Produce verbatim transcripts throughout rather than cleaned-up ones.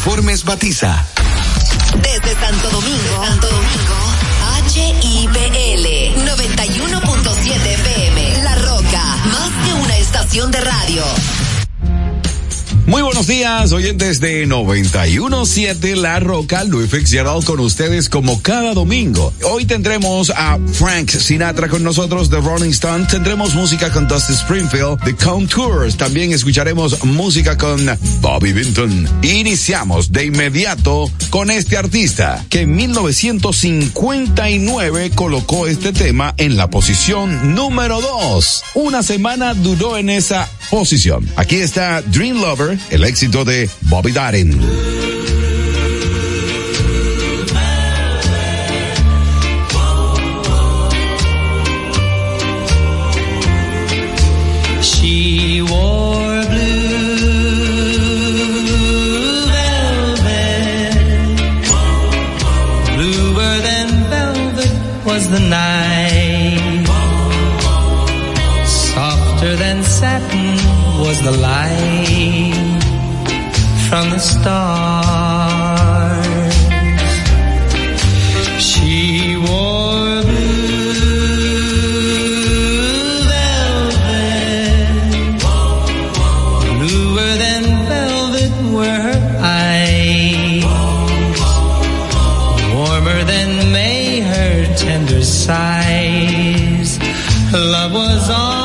Uniformes Batiza. Desde Santo Domingo, Santo Domingo, H I P L noventa y uno punto siete F M. La Roca, más que una estación de radio. Muy buenos días, oyentes de noventa y uno punto siete La Roca, Luis Fitzgerald con ustedes como cada domingo. Hoy tendremos a Frank Sinatra con nosotros, The Rolling Stones. Tendremos música con Dusty Springfield, The Contours. También escucharemos música con Bobby Vinton. Iniciamos de inmediato con este artista que en mil novecientos cincuenta y nueve colocó este tema en la posición número dos. Una semana duró en esa posición. Aquí está Dream Lover, el éxito de Bobby Darin. She wore blue velvet, bluer than velvet was the night, softer than satin was the light from the stars. She wore blue velvet, bluer than velvet were her eyes, warmer than May her tender sighs. Love was all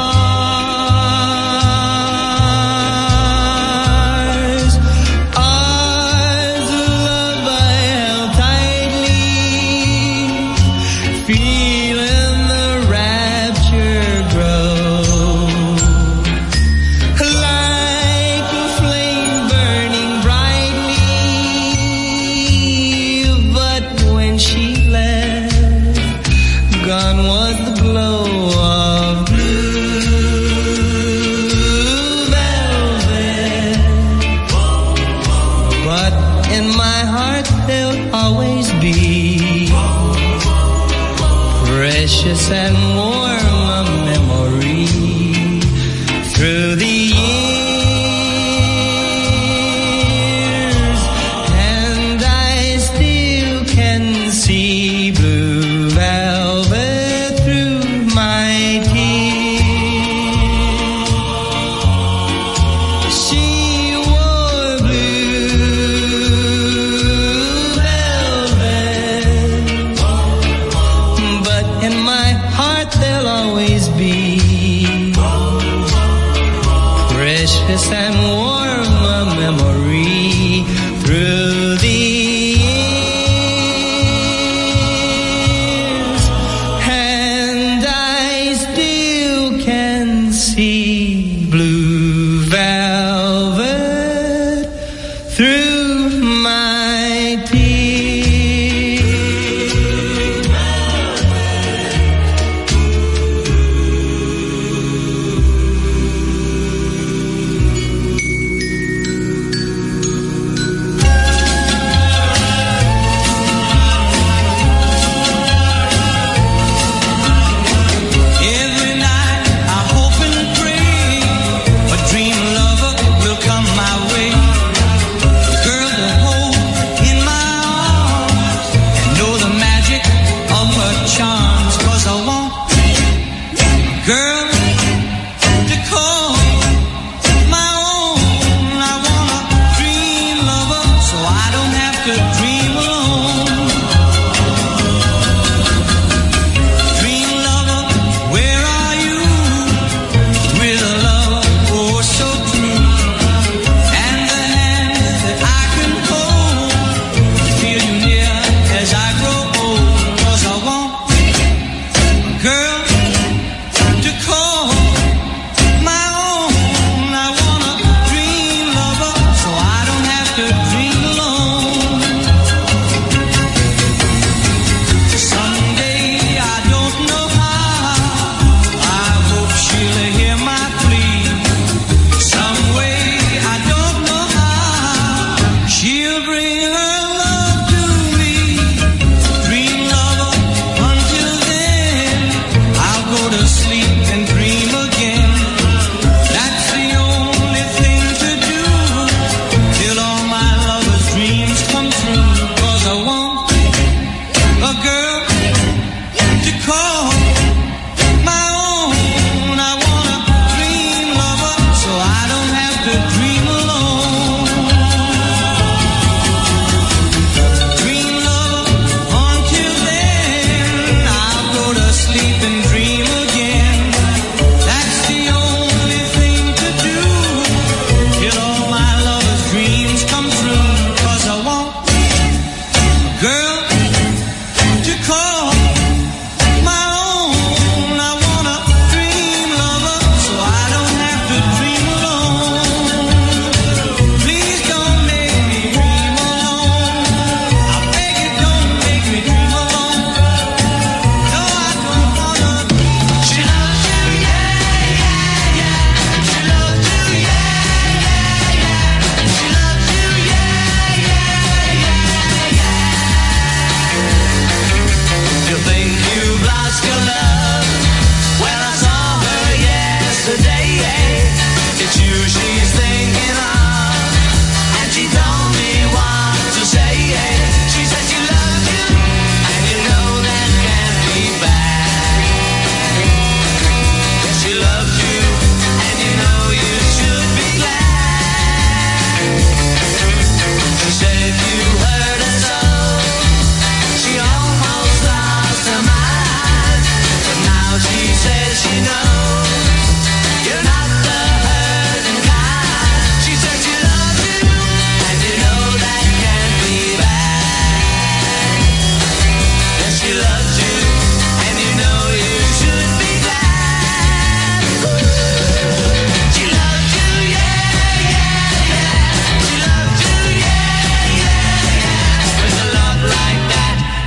and warm a memory through the years, and I still can see blue velvet through my tears. She wore blue velvet, but in my heart there'll always be precious and warm a memory through the years, and I still can see blue velvet through my dream.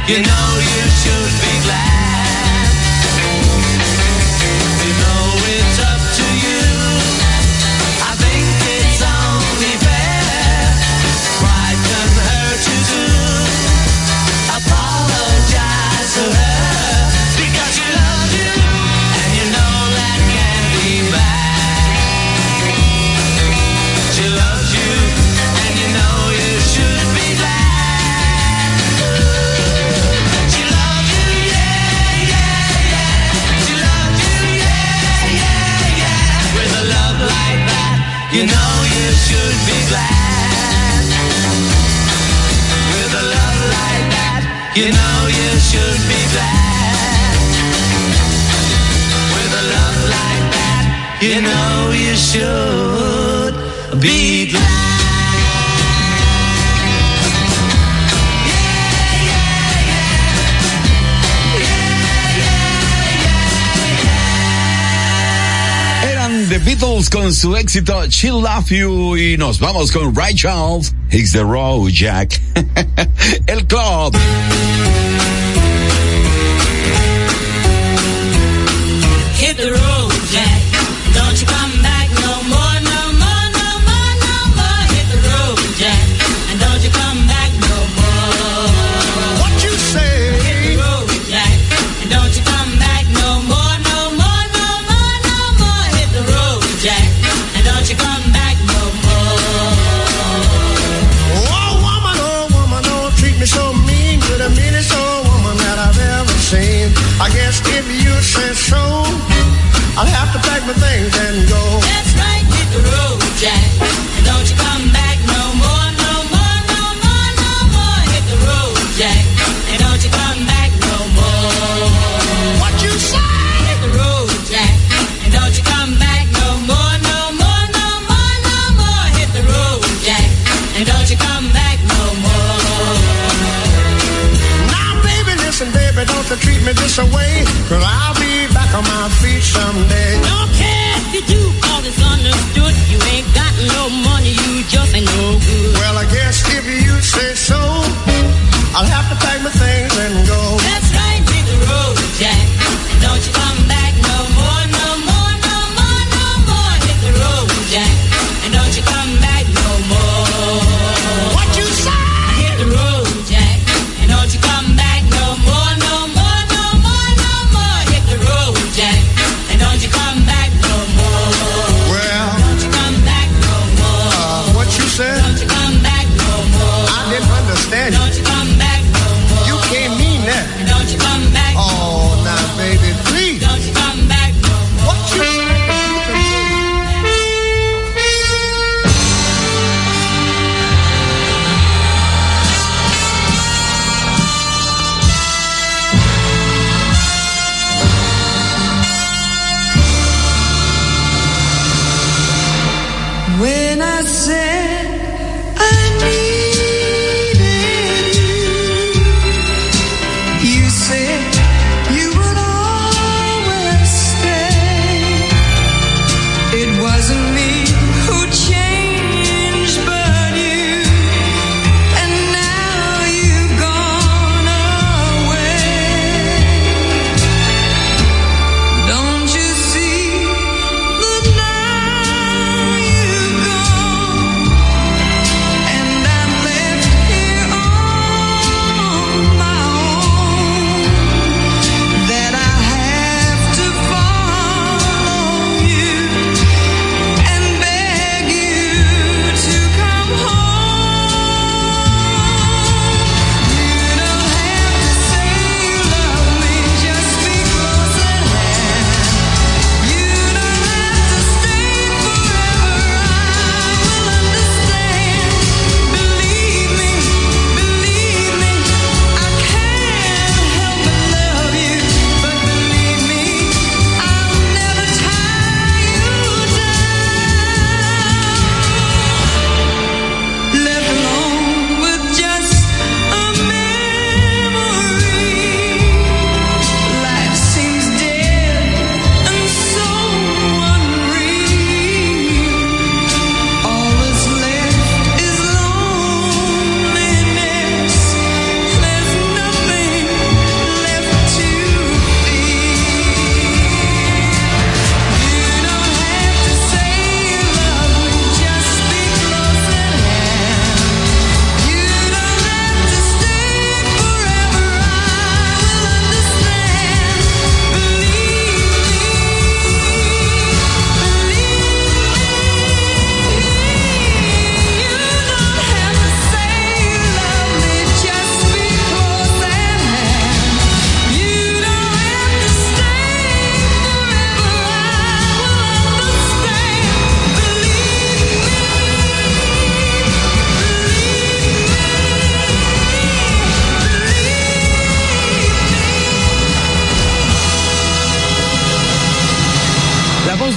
you know you should be glad. You know it's up to you. I think it's only fair. Pride can hurt you too. Apologize to her because she loves you, and you know that can't be bad. She loves you, and you know you should be glad. She loves you, yeah, yeah, yeah. She loves you, yeah, yeah, yeah. With a love like that, you know you should be glad. With a love like that, you know you should be glad. With a love like that, you know you should be glad. Eran The Beatles con su éxito She'll Love You y nos vamos con Ray Charles, Hits the Road Jack. El club. Hit the road, Jack. Don't you come back no more, no more, no more, no more. Hit the road, Jack. And don't you come back no more. What you say? Hit the road, Jack. And don't you come back no more, no more, no more, no more. Hit the road, Jack. And don't you come back no more. Oh, woman, oh, woman, don't treat me so mean. You're the meanest old woman that I've ever seen. I guess if you say so, I'll have to pack my things and go. That's right, hit the road, Jack. And don't you come back no more, no more, no more, no more. Hit the road, Jack. And don't you come back no more. What you say? Hit the road, Jack. And don't you come back no more, no more, no more, no more. Hit the road, Jack. And don't you come back no more. Now, baby, listen, baby, don't you treat me this away, 'cause I'll be back on my feet someday. Don't care if you do, all is understood. You ain't got no money, you just ain't no good. Well, I guess if you say so, I'll have to pack my things and go. That's right, hit the road, Jack. And don't you come back no more, no more, no more, no more. Hit the road, Jack. And don't you come back no more. What you say? Hit the road, Jack. And don't you come back no more, no more, no more, no more. Hit the road, Jack. And don't you come back no more. Well, Don't you come back no more. uh, what you said? Don't you come back no more. I didn't understand you. Don't you come back no more. You can't mean that. Don't you come back. Oh, now, baby, please. Don't you come back no more. What you say? When I said I needed you,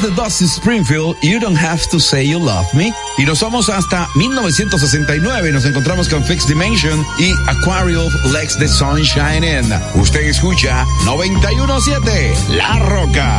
de Dusty Springfield, You Don't Have to Say You Love Me. Y nos vamos hasta mil novecientos sesenta y nueve. Nos encontramos con Fixed Dimension y Aquarius Lex the Sunshine In. Usted escucha noventa y uno punto siete La Roca.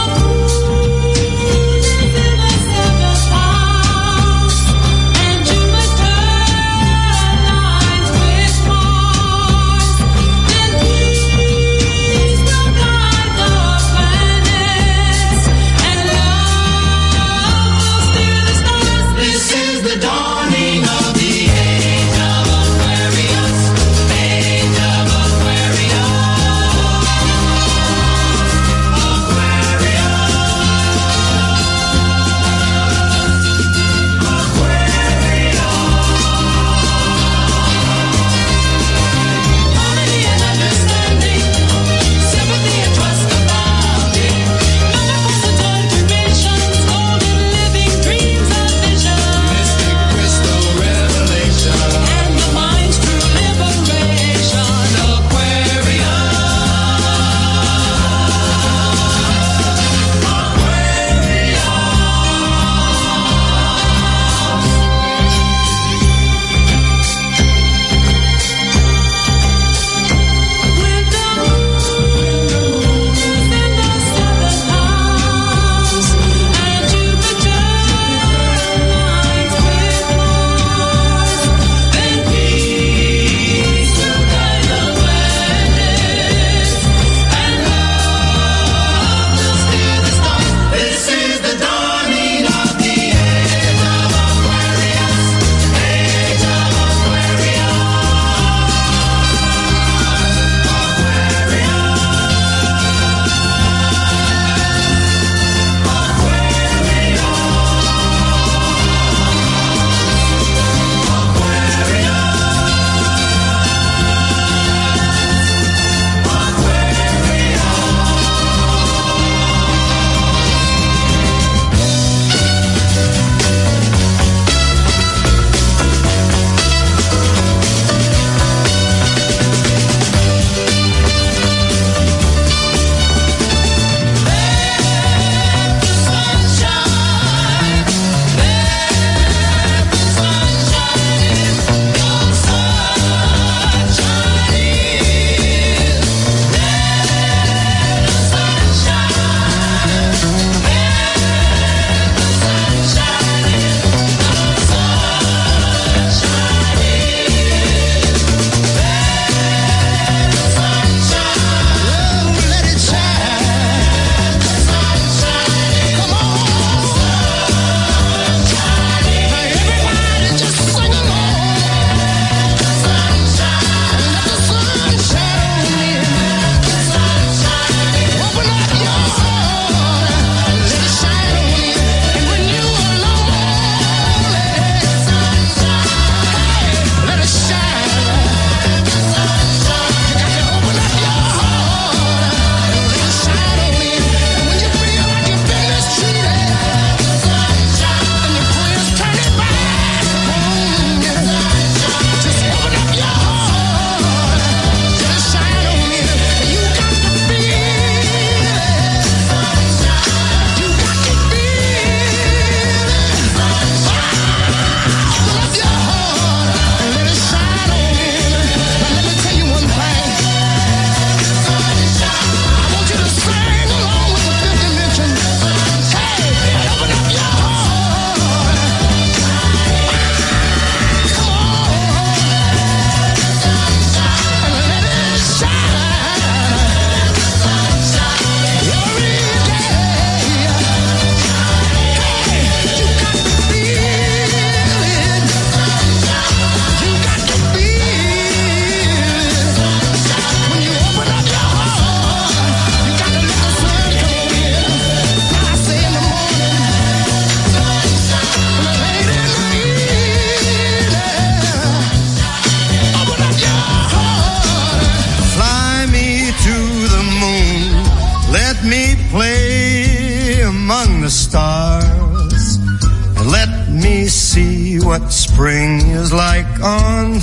what spring is like on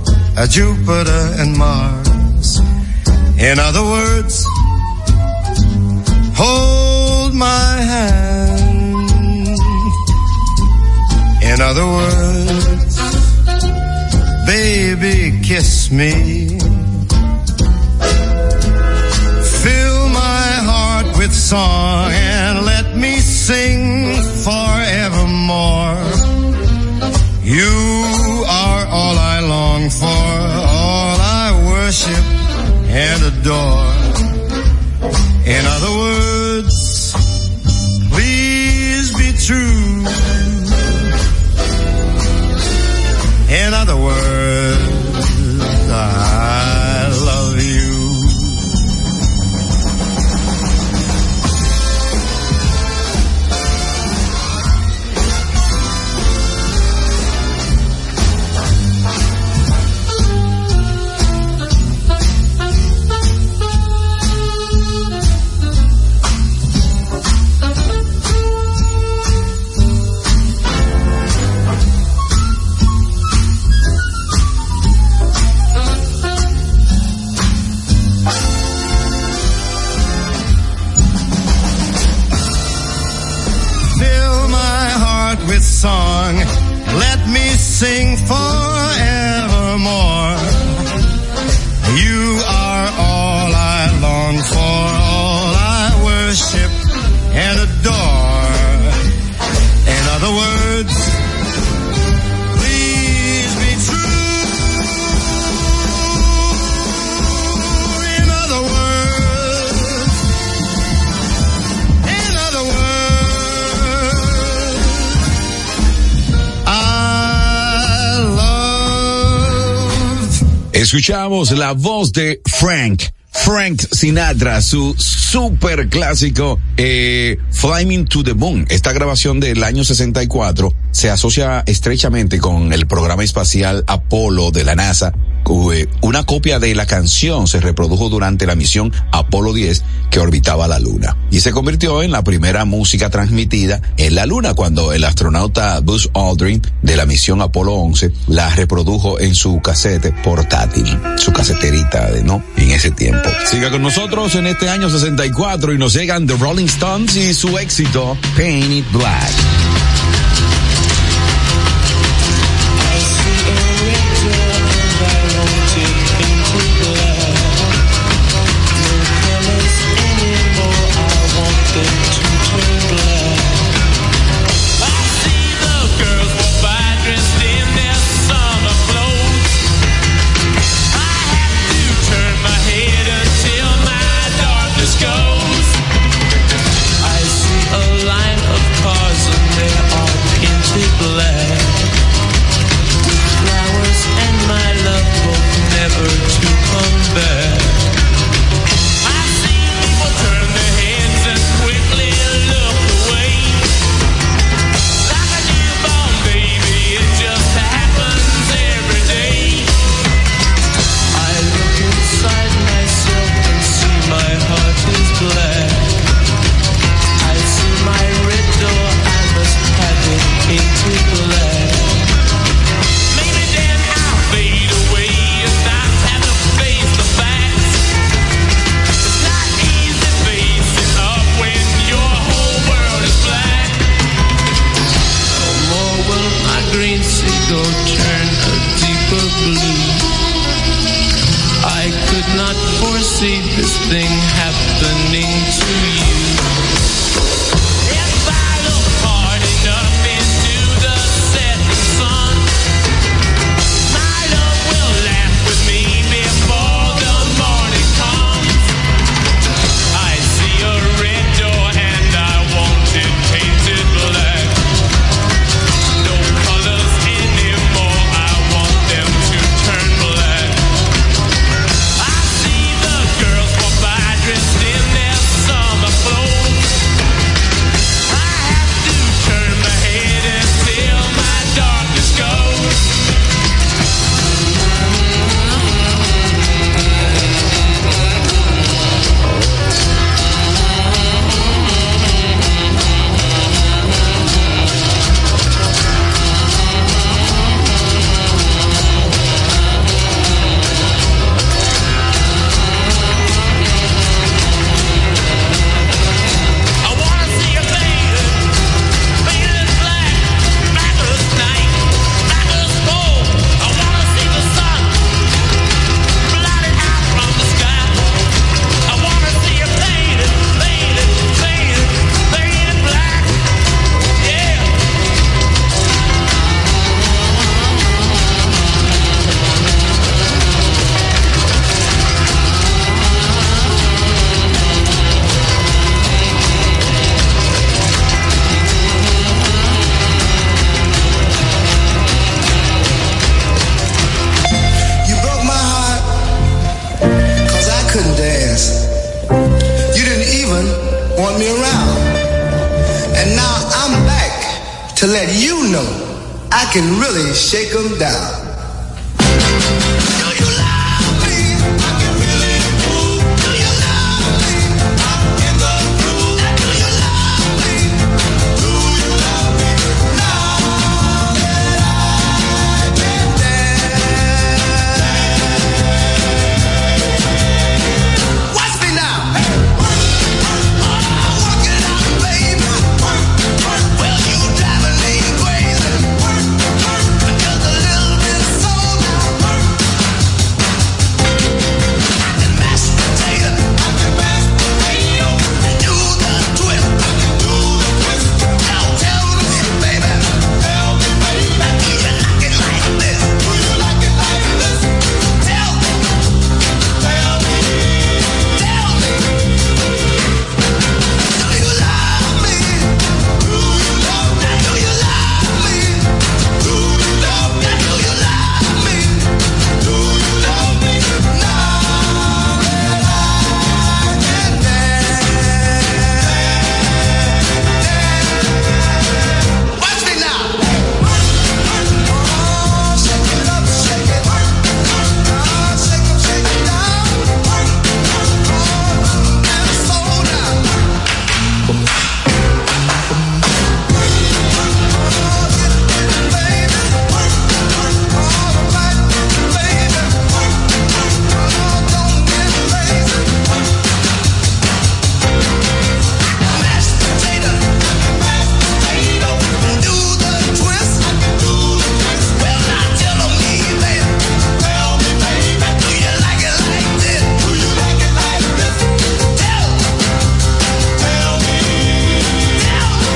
a Jupiter and Mars. In other words, hold my hand. In other words, baby, kiss me. Fill my heart with song and let me sing forevermore. You are all I long for, all I worship and adore. In other words, please be true. In other words, I love you. Song, let me sing forevermore. You are all I long for, all I worship and adore. In other words, please be true. In other words, in other words, escuchamos la voz de Frank, Frank Sinatra, su super clásico eh, Flying to the Moon. Esta grabación del año sesenta y cuatro se asocia estrechamente con el programa espacial Apolo de la NASA. Una copia de la canción se reprodujo durante la misión Apolo diez que orbitaba la Luna y se convirtió en la primera música transmitida en la Luna cuando el astronauta Buzz Aldrin de la misión Apolo once la reprodujo en su casete portátil, su caseterita de no en ese tiempo. Siga con nosotros en este año sesenta y cuatro y nos llegan The Rolling Stones y su éxito Paint It Black. Bye. to let you know I can really shake 'em down. Do you love me? I can really move. Do you love me? I'm in the groove. Do you love me? Do you love me? Now that I can dance. Watch me now. Oh, work it out, baby. Well, you driving me crazy. Just a little bit slow now. And mashed potato, I can mash potato. Do the twist, I can do the twist. Now tell me, baby, tell me, baby, do you like it like this? Do you like it like this? Tell me, tell me, tell me. Do you love me? Do you love me? Do you love me? Do you love me? Do you love me? Do you love me? Now that I can dance. Watch me now. Oh, shake it up, shake it. Oh, shake it, shake it down. Oh, and slow down. Oh, get it, get it, baby. All right, baby. Oh, don't get lazy. Mashed potato, mashed potato. Do the twist, do the twist. Well, now tell me, baby, tell me, baby, do you like it like this? Do you like it like this? Tell me, tell me, tell me.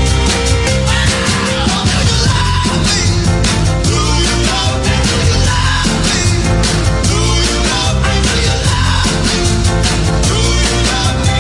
Wow, do you love me? Do you love me? Do you love me? Do you love me? Do you love me? Do you love me?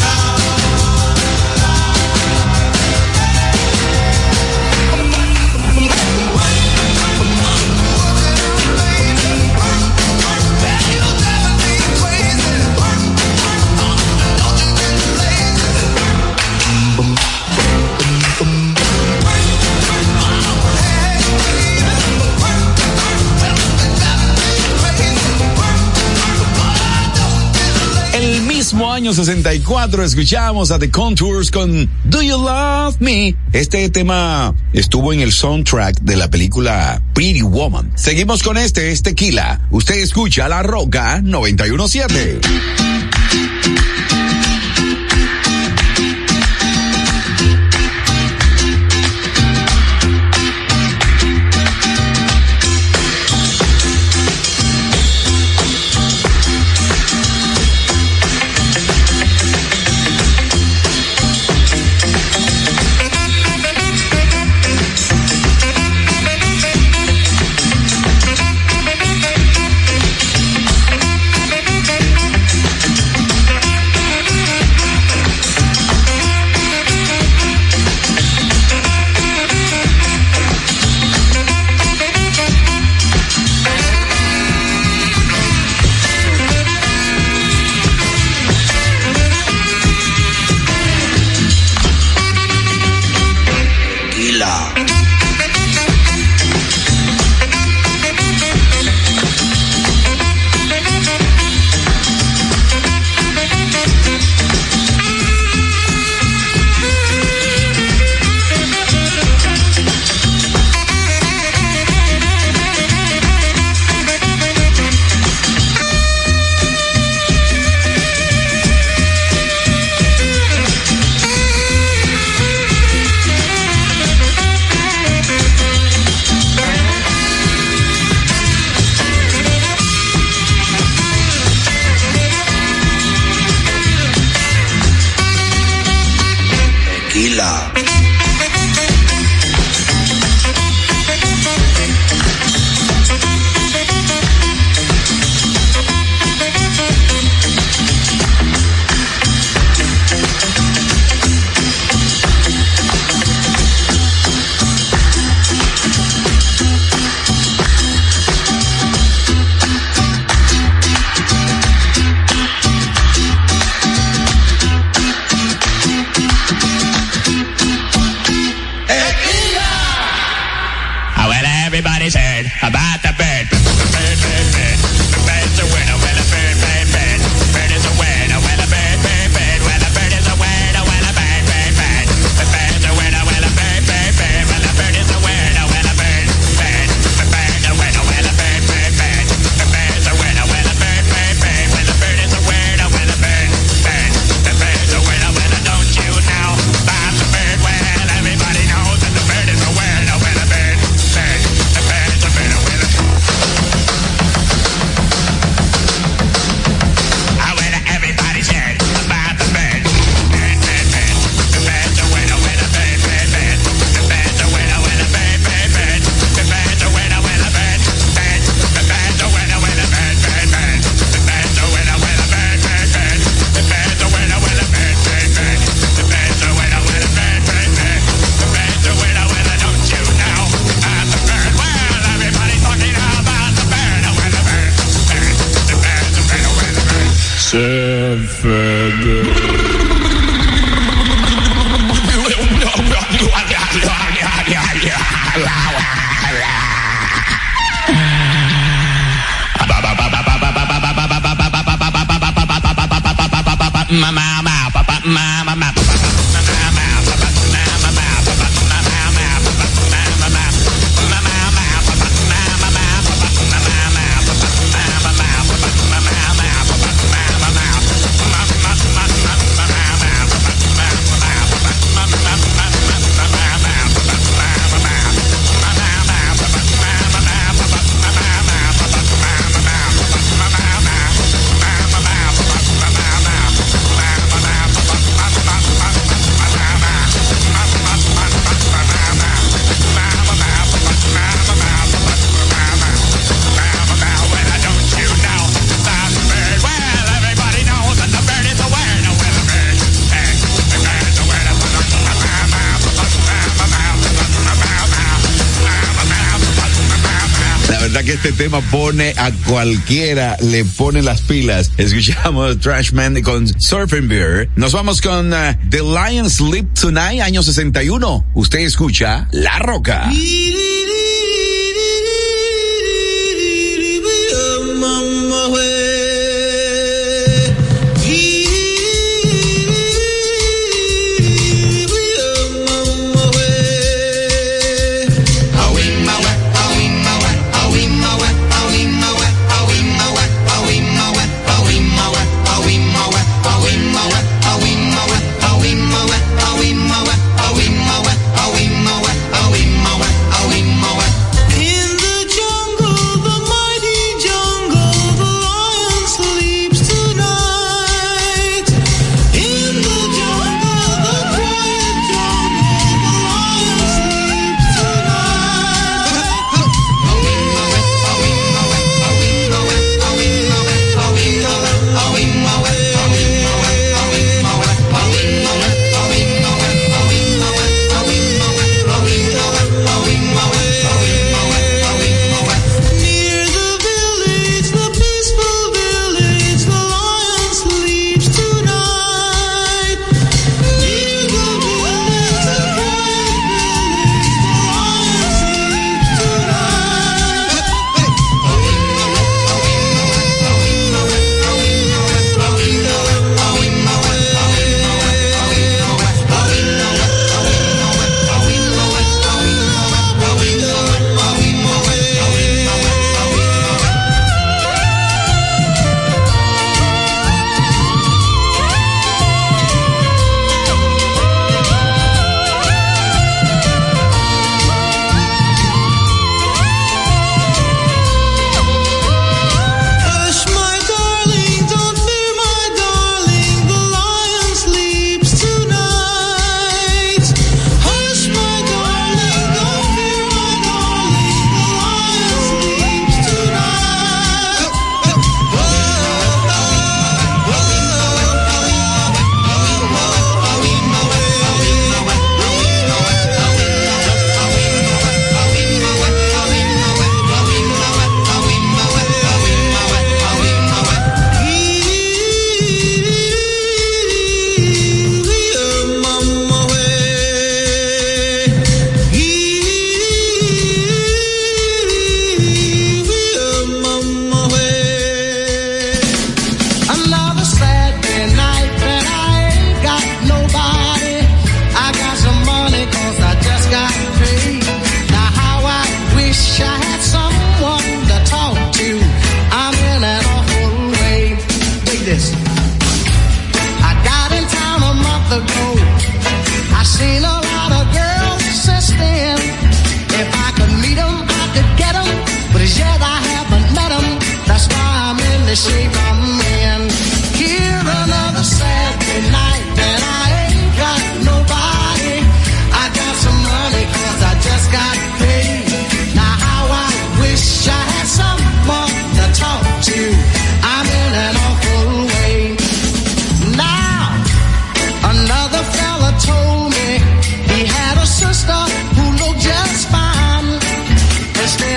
El mismo año sesenta y cuatro escuchamos a The Contours con Do You Love Me. Este tema estuvo en el soundtrack de la película Pretty Woman. Seguimos con este, es Tequila. Usted escucha La Roca noventa y uno punto siete. Do Que este tema pone a cualquiera, le pone las pilas. Escuchamos Trashman con Surfing Beer. Nos vamos con uh, The Lion Sleep Tonight, año sesenta y uno. Usted escucha La Roca.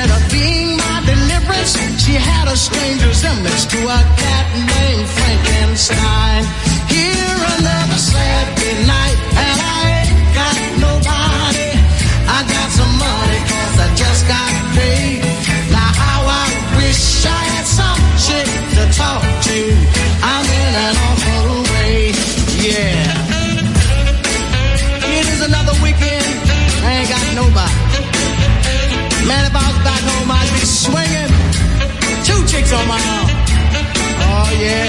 She had a strange resemblance to a cat named Franklin. Frankenstein. Here another Saturday night, and I ain't got nobody. I got some money, cause I just got paid. Now how I wish I had some chick to talk to. I'm in an awful way, yeah. It is another weekend, I ain't got nobody. Man, if I was back home, I'd be swinging two chicks on my arm. Oh, yeah.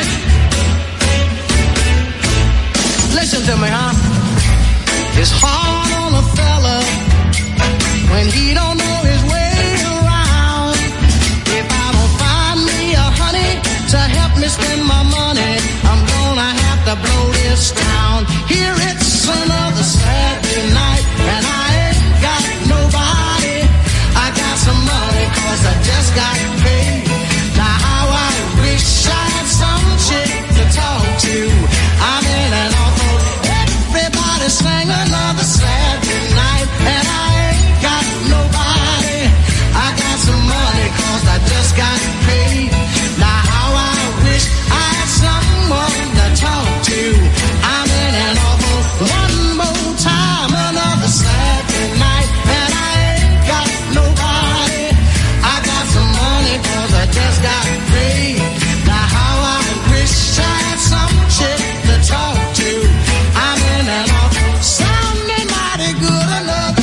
Listen to me, huh? It's hard on a fella when he don't know his way around. If I don't find me a honey to help me spend my money, I'm gonna have to blow this town. Here it's another Saturday night, and I ain't got nobody. I got some money, cause I just got paid. Now how I wish I had some chick to talk to. I'm in an awful, everybody sang another Saturday night, and I ain't got nobody. I got some money, cause I just got paid. Now how I wish I had someone to talk to. I'm in an awful, one more time, another Saturday night, and I ain't got nobody. I got some money, cause I just got paid. Now how I wish I had some chick to talk to. I'm in an awful, sounding mighty good enough.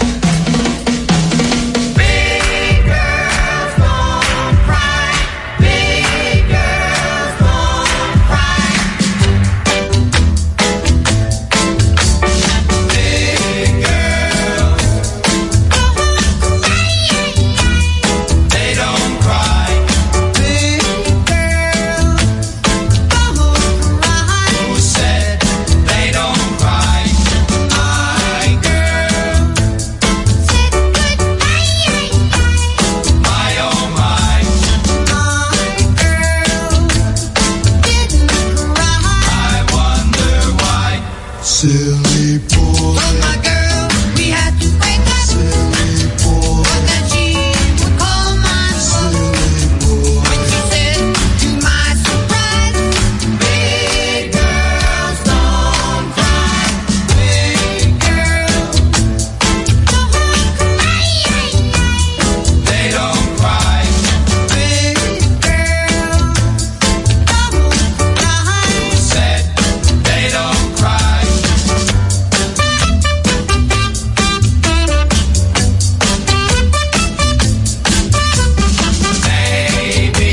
Big girls don't cry. Big girls don't cry. Big girls, they don't cry. Big girls don't cry. Who said they don't cry? My girl, my oh my. My girl didn't cry. I wonder why. Silly boy. Well, my girl, we had to break up. Silly boy. But then she would call my phone. Silly boy. When she said, to my surprise, big girls don't cry. Big girls don't cry. They don't cry. Big girls don't cry. Who said they don't cry? Baby,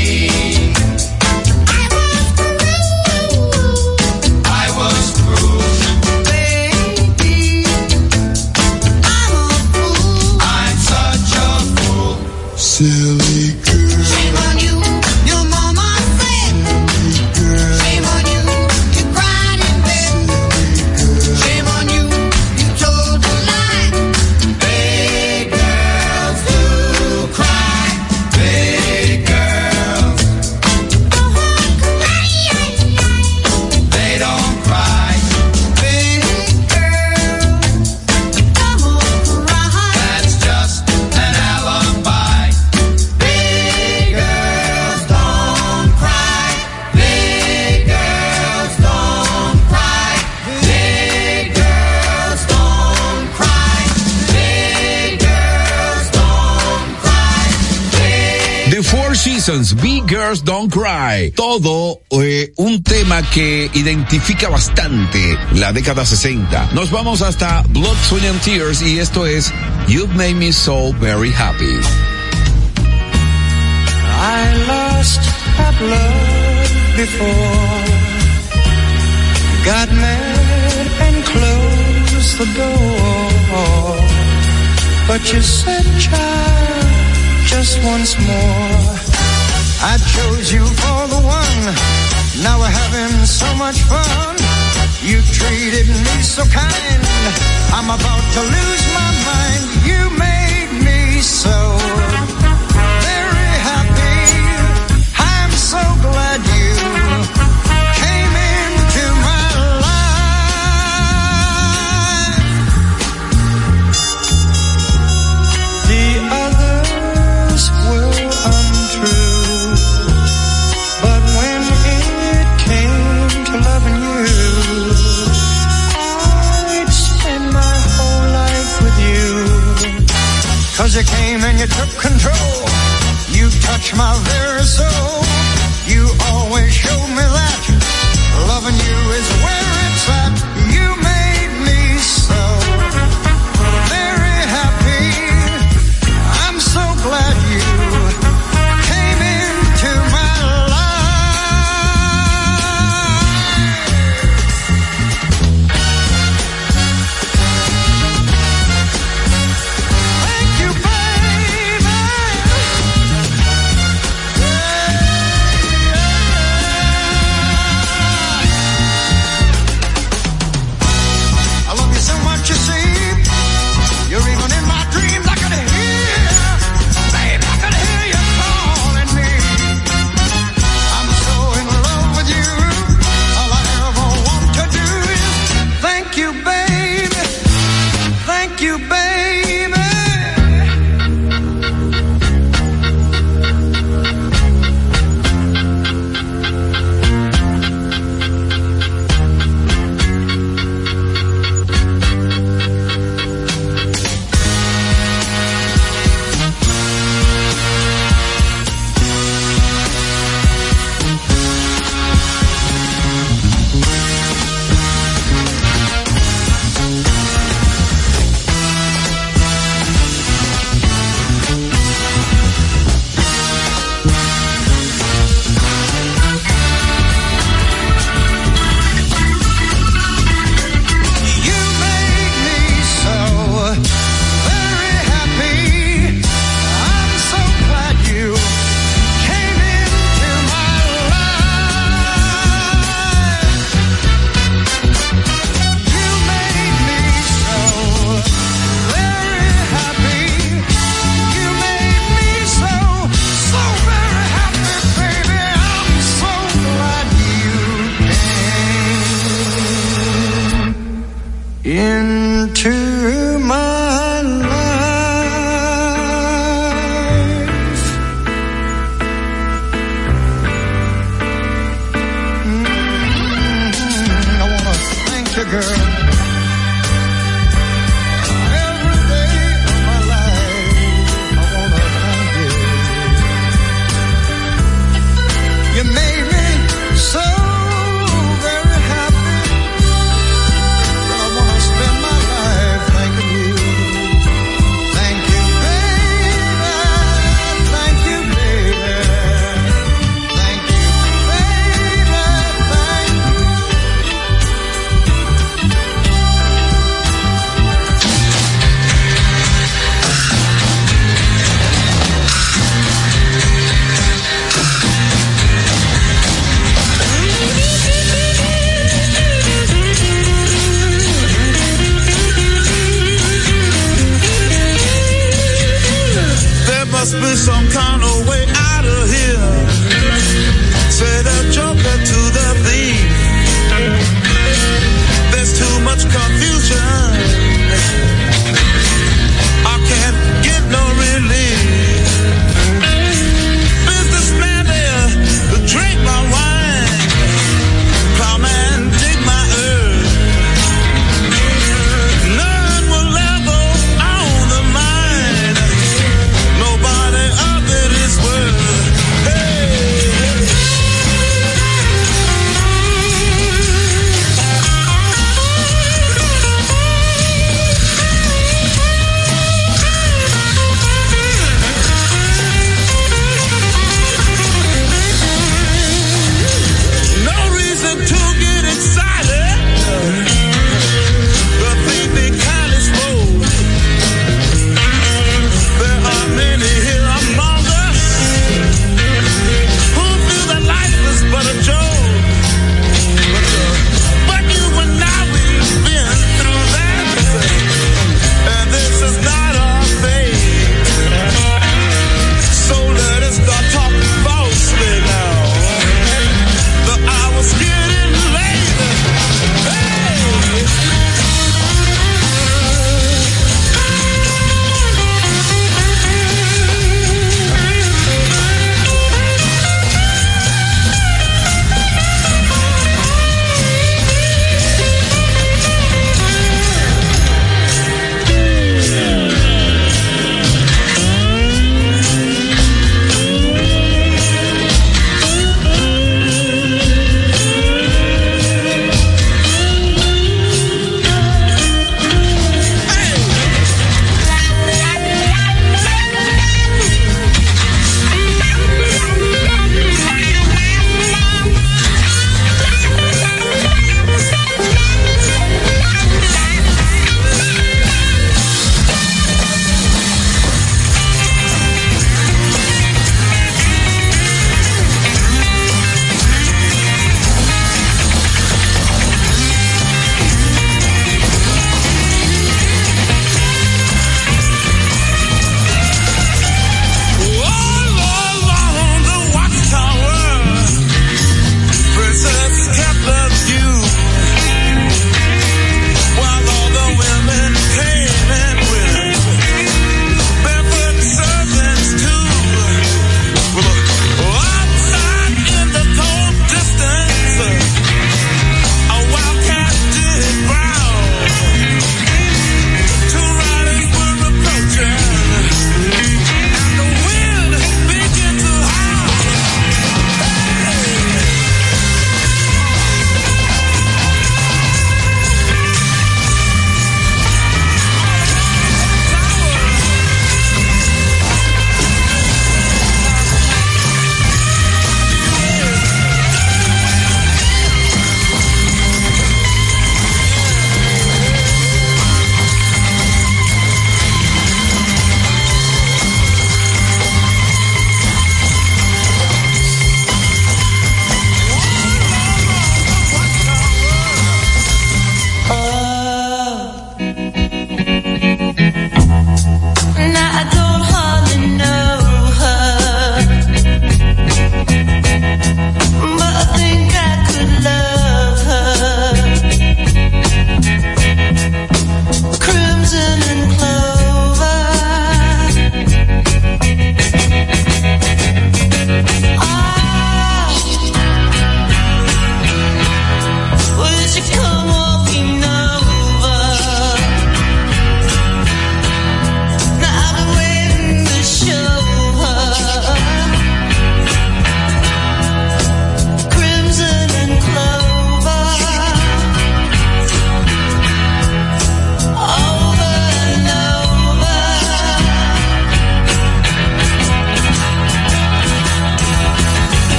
I was through. Baby, I'm a fool. I'm such a fool. Silly girl. Shame on you, your mama said. Silly girl. Shame on you, you cried in bed. Silly girl. Shame on you, you told a lie. Big girls do cry. Big girls don't cry. They don't cry. Big girls don't cry. That's just an alibi. Big girls don't cry. Big girls don't cry. Big girls don't cry. Big girls don't cry. Big The Four Seasons, Big Girls Don't Cry. Todo eh, un tema que identifica bastante la década sesenta. Nos vamos hasta Blood, Sweat and Tears y esto es You've Made Me So Very Happy. I lost that love before. Got mad and closed the door. But you said, child, just once more. I chose you for the one. Now we're having so much fun. You treated me so kind. I'm about to lose my mind. You made me so very happy. I'm so glad you came into my life. The others were untrue, but when it came 'cause you came and you took control. You touched my very soul. You always showed me that loving you is where it's at. You made me so very happy. I'm so glad you came into my life. Thank you, baby. I love you so much, you see. You're even in my dreams. I can hear, baby, I can hear you calling me. I'm so in love with you. All I ever want to do is thank you, baby. Thank you, baby. You made me so very happy. I'm so glad you came into my life. You made me so very happy. You made me so, so very happy, baby. I'm so glad you came into my life. Mm, I wanna thank you, girl. Every day of my life, I wanna thank you. You made me so very happy. I wanna spend my life thanking you. Thank you, baby. Thank you, baby. Thank you, baby. Thank you.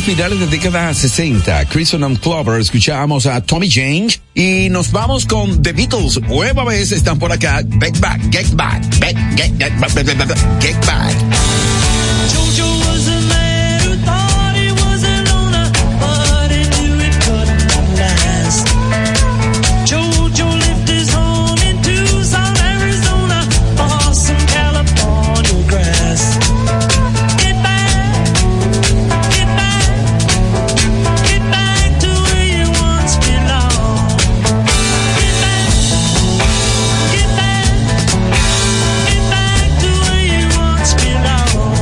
finales de década sesenta, Crimson Clover, escuchábamos a Tommy James y nos vamos con The Beatles. Nueva vez están por acá. Get back, get back, get, get, get, get, get, get back. Jojo was a man who thought he was a loner, but he knew it couldn't last. Jojo lived his home in Tucson, Arizona, for some California grass. Get back, get back, get back to where you once belonged. Get back, get back, get back to where you once belonged.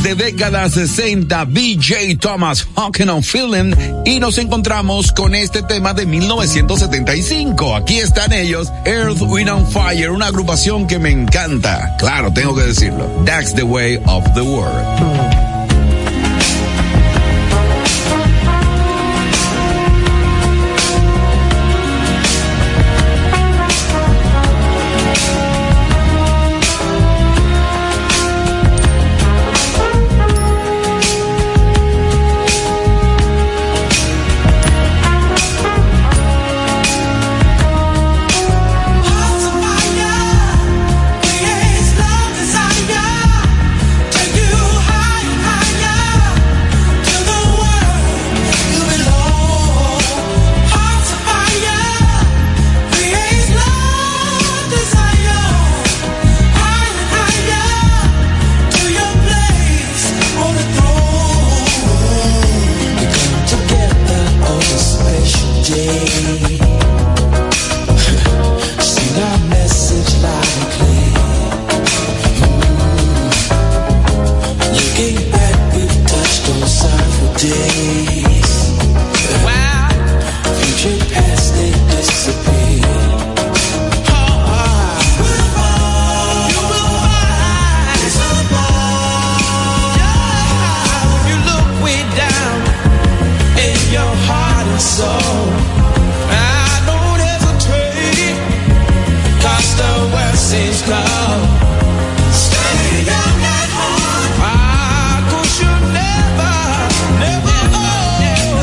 de década sesenta, B J Thomas, Hawking on Feeling, y nos encontramos con este tema de mil novecientos setenta y cinco. Aquí están ellos, Earth, Wind and Fire, una agrupación que me encanta. Claro, tengo que decirlo. That's the way of the world. Ah, 'cause you never, never, oh.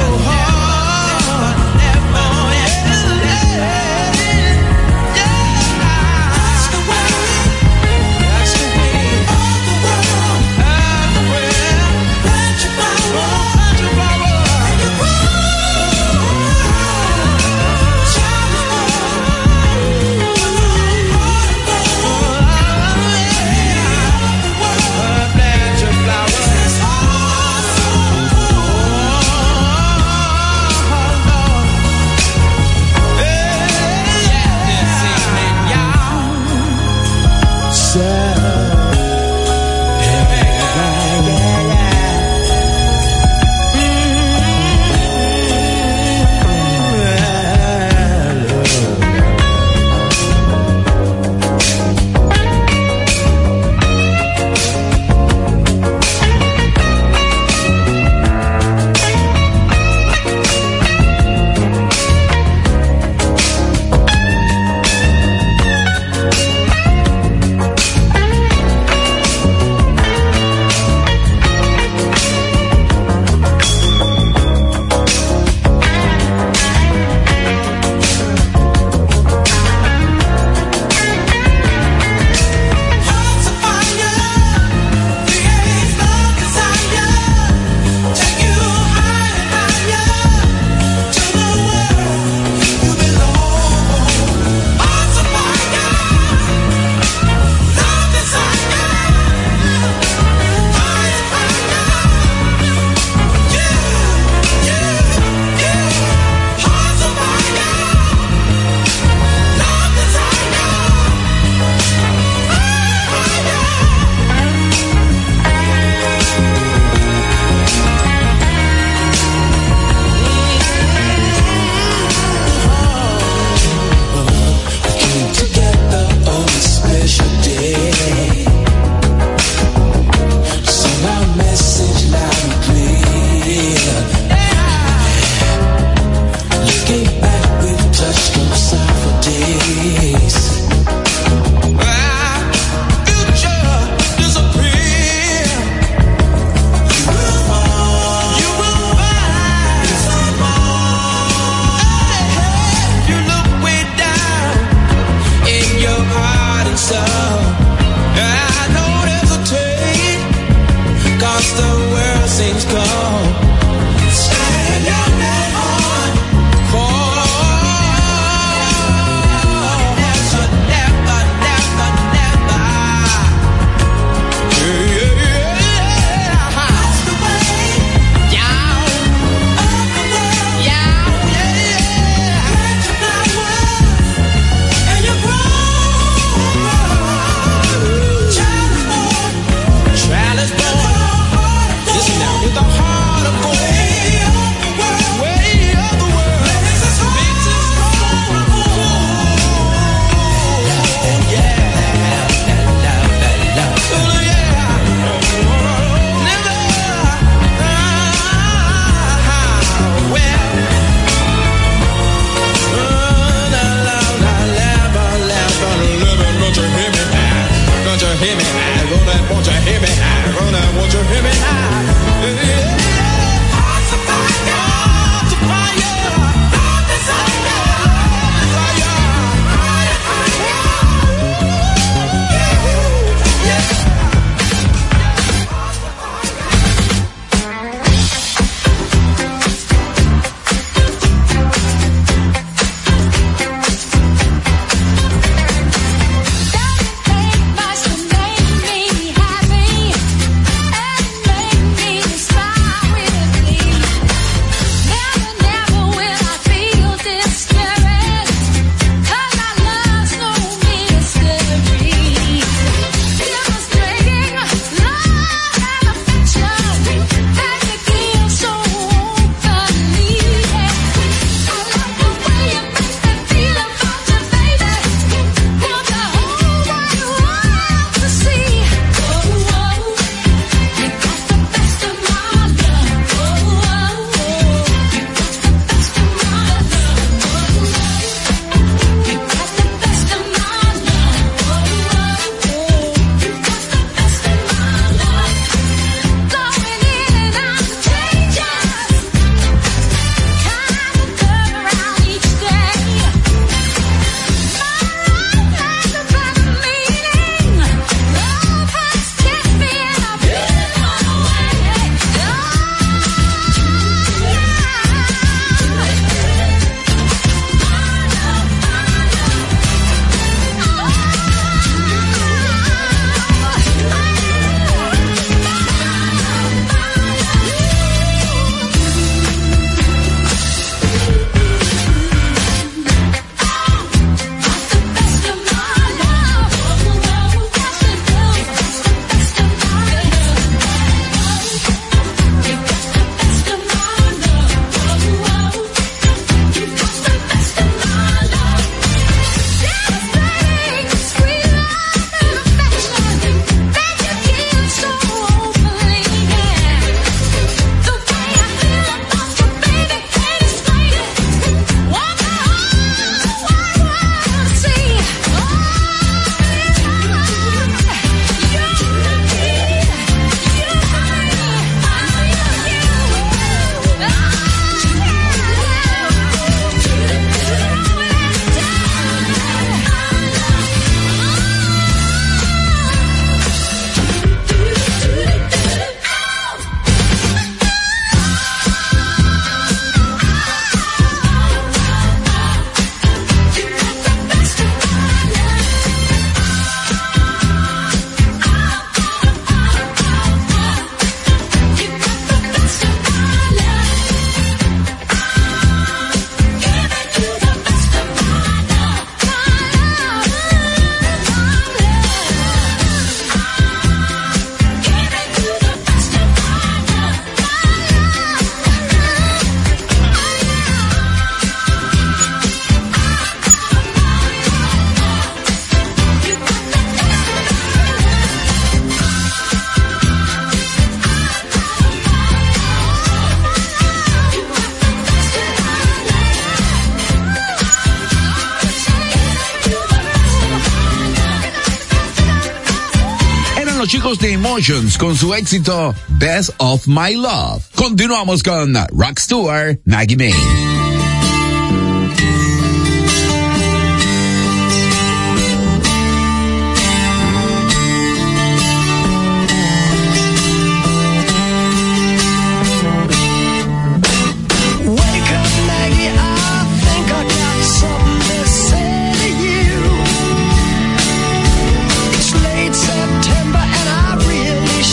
hijos de Emotions con su éxito Best of My Love. Continuamos con Rod Stewart, Maggie May.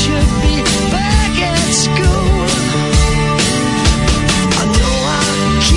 I know I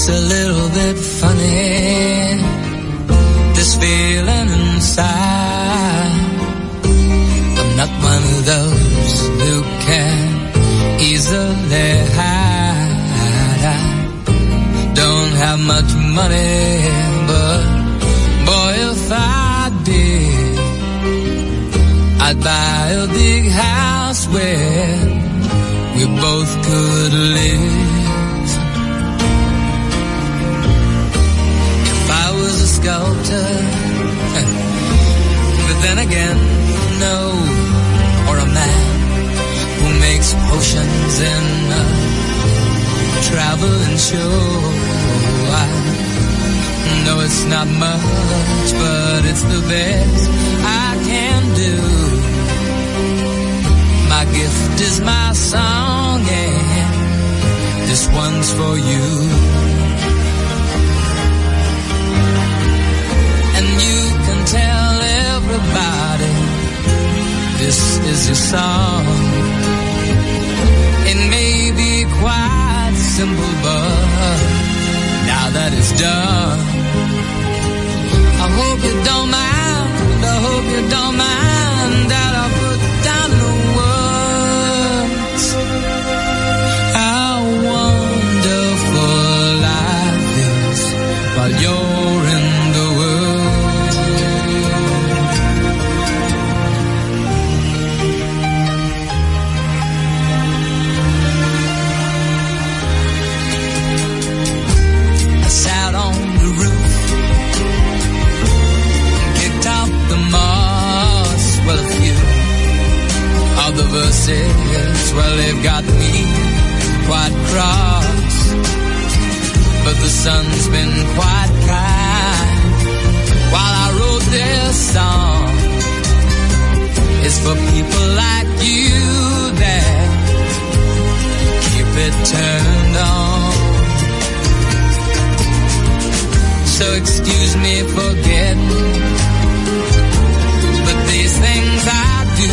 It's a little bit funny, this feeling inside. I'm not one of those who can easily hide. I don't have much money, but boy, if I did, I'd buy a big house where we both could live. If I was a sculptor, but then again, no, or a man who makes potions in a traveling show. I know it's not much, but it's the best I can do. My gift is my song, and this one's for you. And you can tell everybody this is your song. It may be quite simple, but now that it's done, I hope you don't mind, I hope you don't mind that I put down the words. How wonderful life is while you're in the world. I sat on the roof, kicked out the moss. Well, a few of the verses, well, they've got me quite cross, but the sun's been quite kind while I wrote this song. It's for people like you that keep it turned on. So excuse me for getting, but these things I do.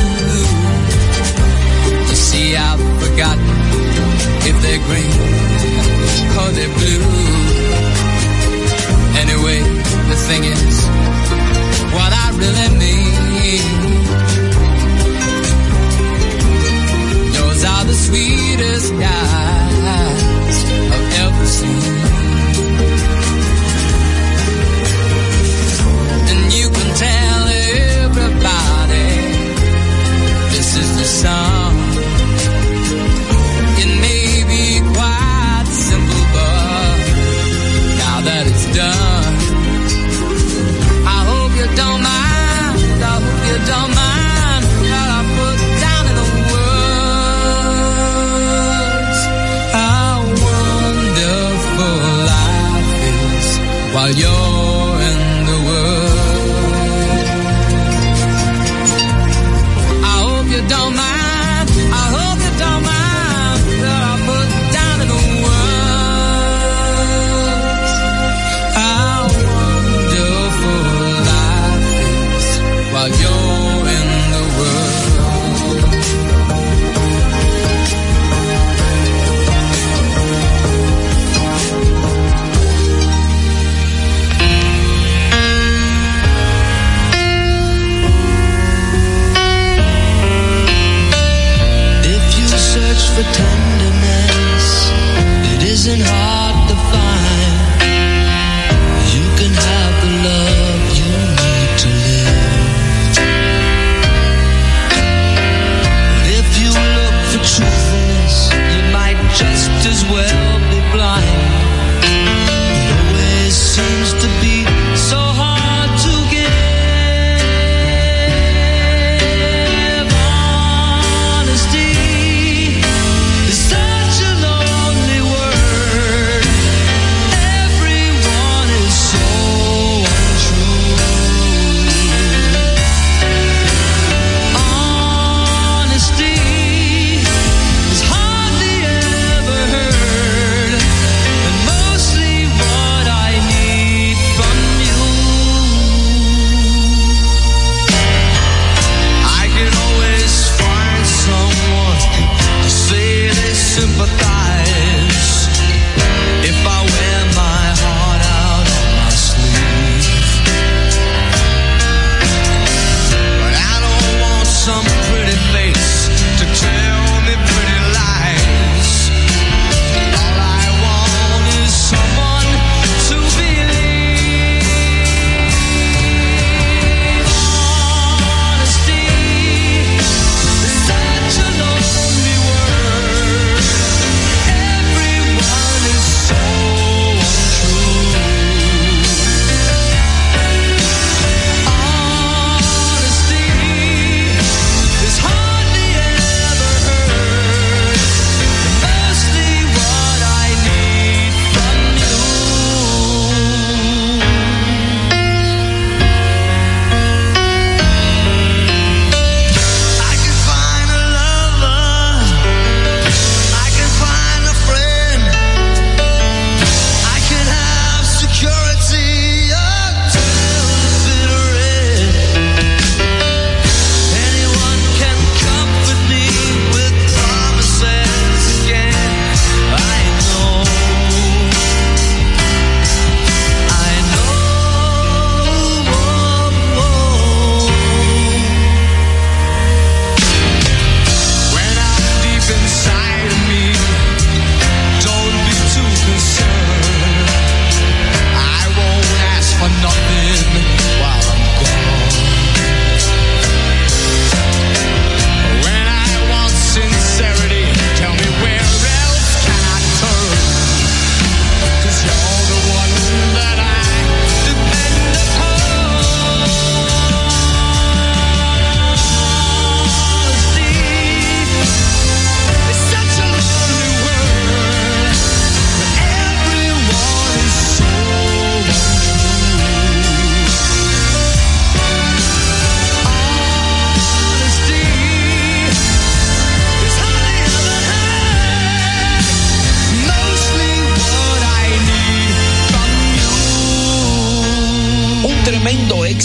You see, I've forgotten if they're green or they're blue. Anyway, the thing is, what I really mean, those are the sweetest eyes I've ever seen. And you can tell everybody this is the song. It may be quite simple, but now that it's done, I hope you don't mind, I hope you don't mind that I put down in the words how wonderful life is while you're in the world. I hope you don't mind, I hope you don't mind that I put down in the words how wonderful life is while you're in the world. If you search for tenderness, it isn't hard to find. You can have the love you need to live. But if you look for truthfulness, you might just as well be blind. It always seems to be so hard to give. Honesty is such a lonely word. Everyone is so untrue. Honesty is hardly ever heard.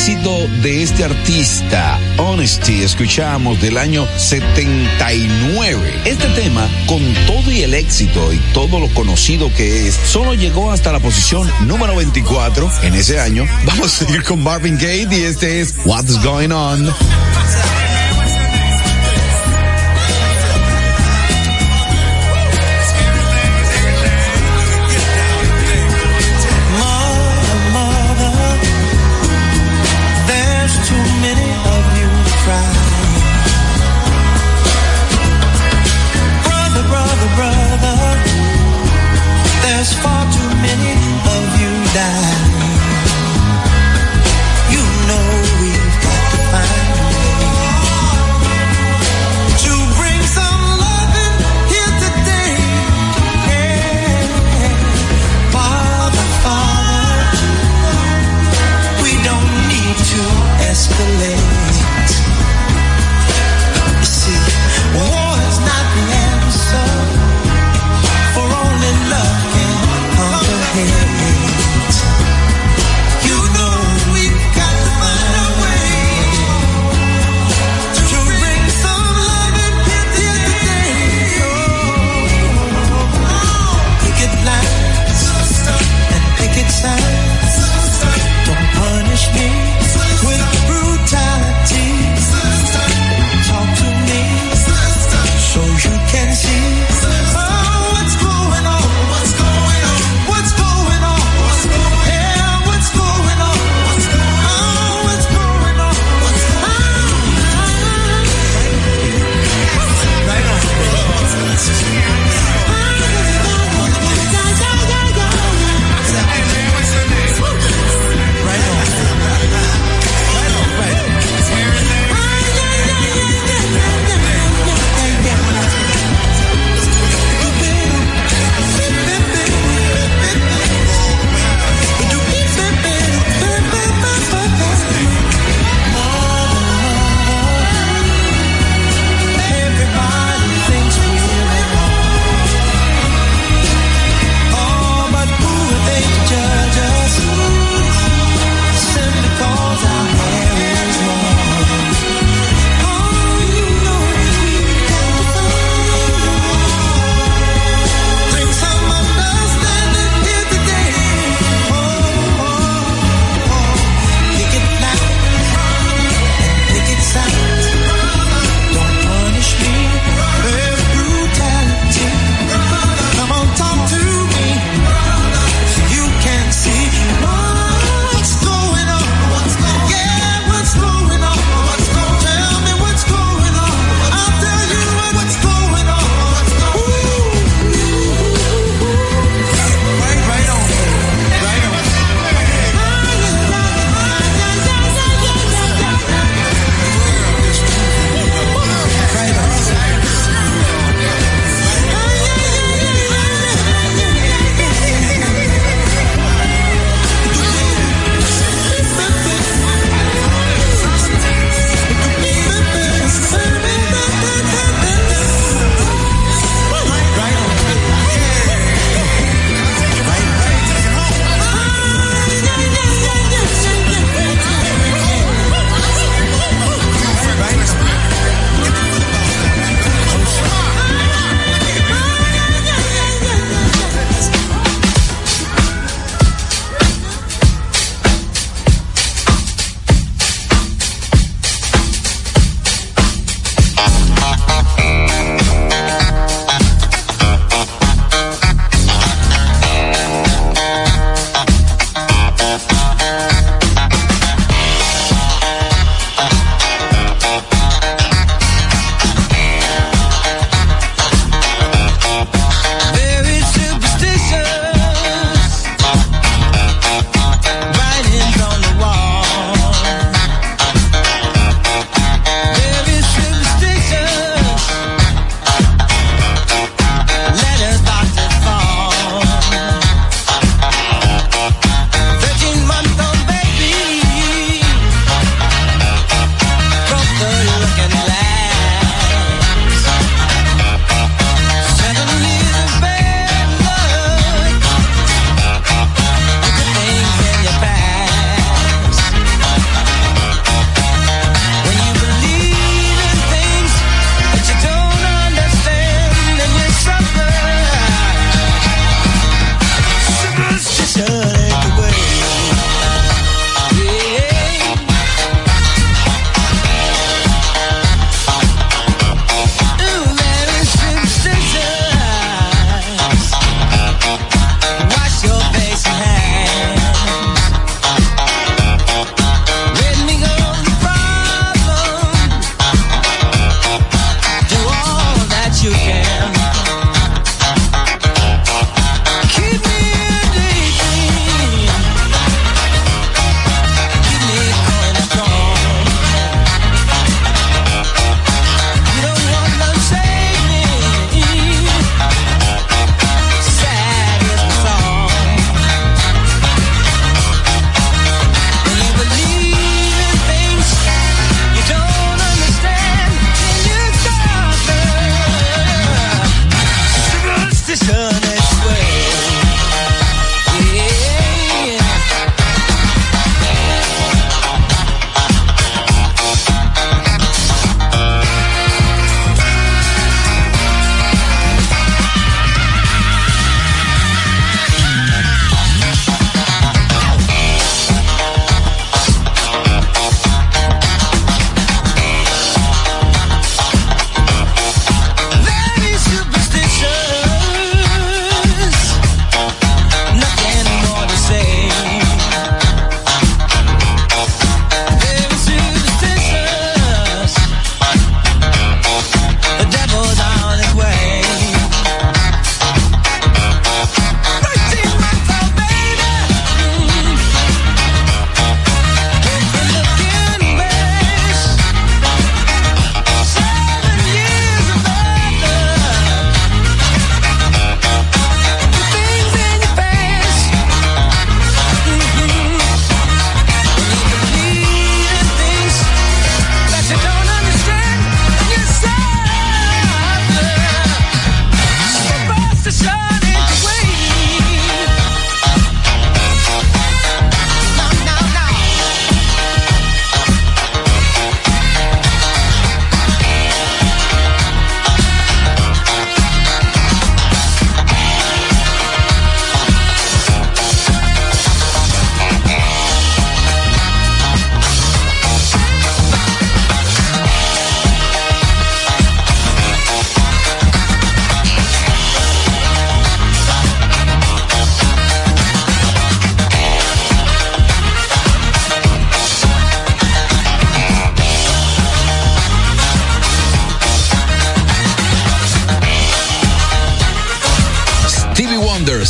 éxito de este artista, Honesty, escuchamos del año setenta y nueve. Este tema, con todo y el éxito y todo lo conocido que es, solo llegó hasta la posición número veinticuatro en ese año. Vamos a seguir con Marvin Gaye y este es What's Going On. There's far too many of you dying. You know we've got to find a way.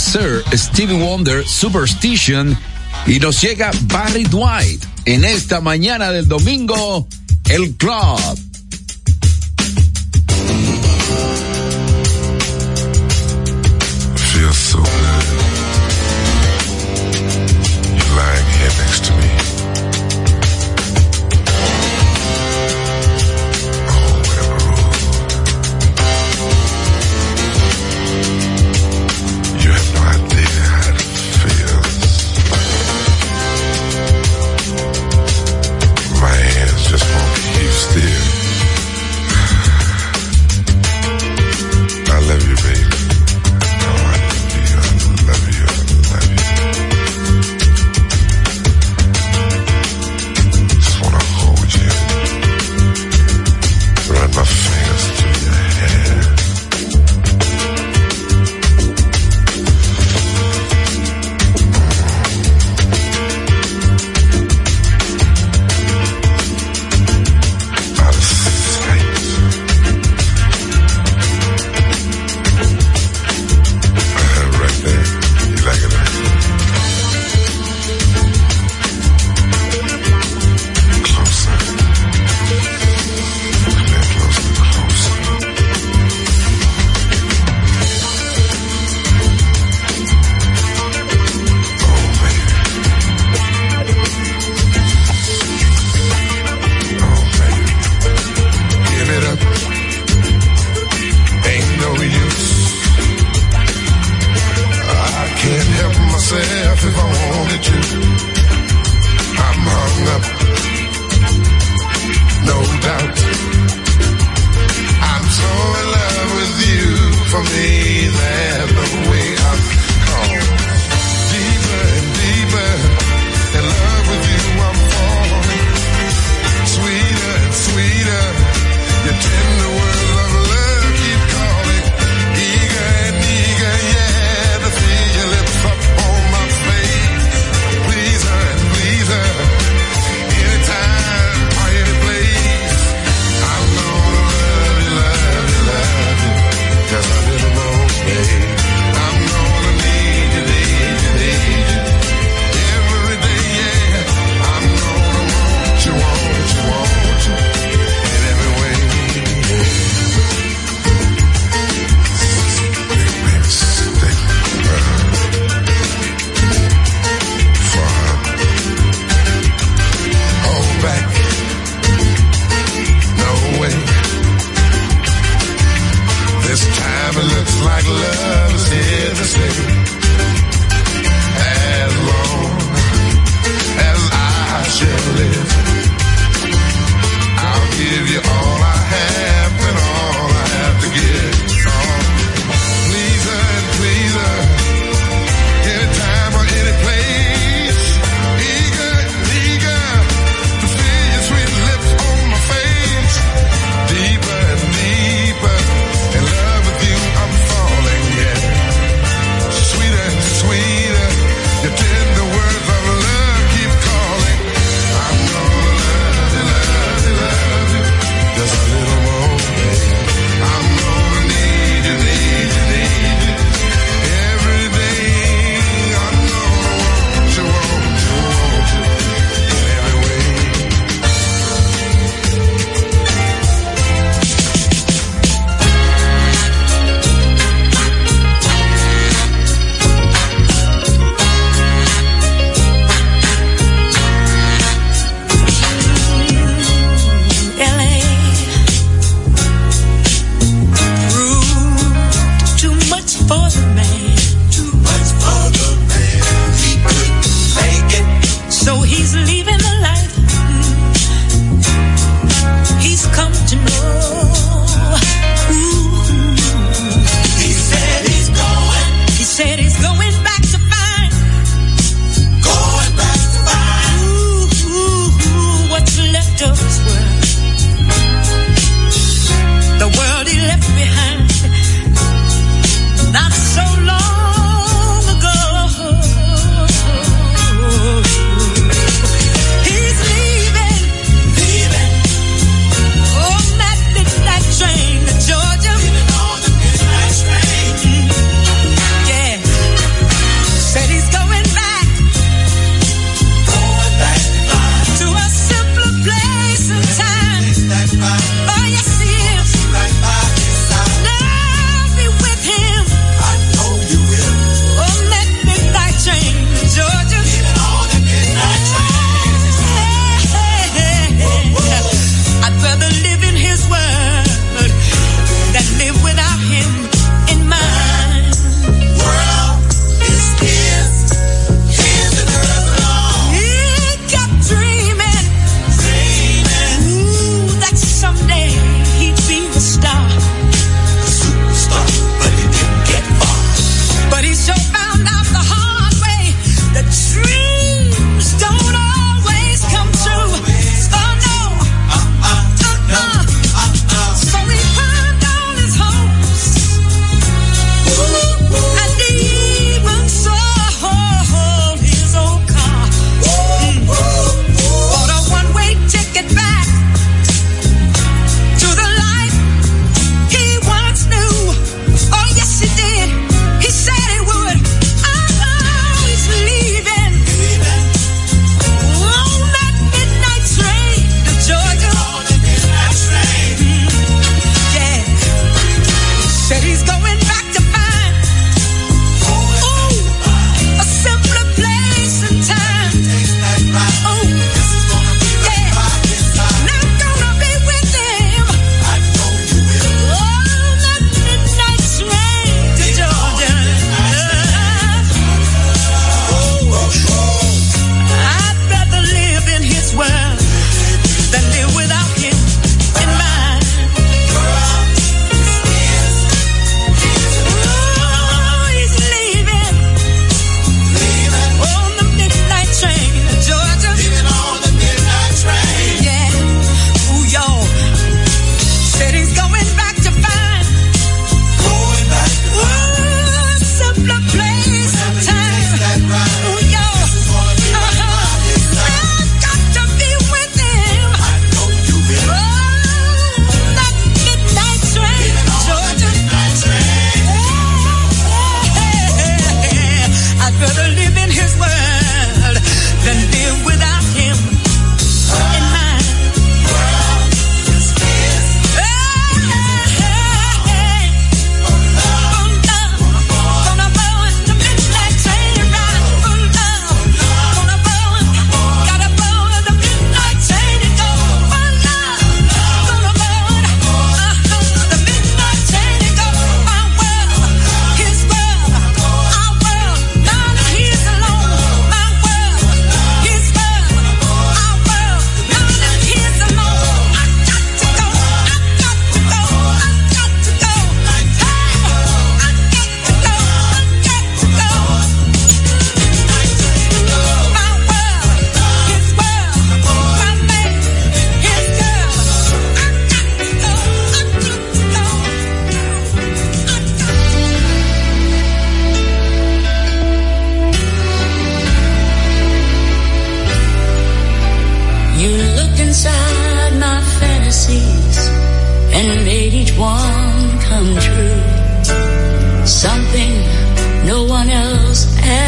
Sir Stevie Wonder, Superstition, y nos llega Barry White en esta mañana del domingo, el club. Feels so good. You're lying here next to me. Oh, what a groove. You have no idea how it feels. My hands just won't keep still. I love you, baby. My fingers through your hair. Out of sight. Uh, right there. You like it, right? Closer. Myself if I wanted to. I'm hung up, no doubt. I'm so in love with you. For me, there's no way I'm caught. Deeper and deeper in love with you, I'm falling. Sweeter and sweeter, your tender words of love keep calling. Eager and eager, yeah, to feel your lips up on my face. Pleaser and pleaser, anytime or any place. I'm gonna love you, love you, love you, just a little more, babe. I'm gonna need you, need you, need you, every day, yeah. I'm gonna want you, want you, want you, in every way, yeah. Baby, stay far, hold back, no way. This time it looks like love is here to stay. As long as I shall live, I'll give you all I have and all I have to give. Oh, pleaser and pleaser, anytime or any place. Eager and eager to feel your sweet lips on my face. Deeper and deeper in love with you, I'm falling, yeah. Sweeter and sweeter, your tender words of love keep calling. I'm gonna love you, love you, love you, just a little more.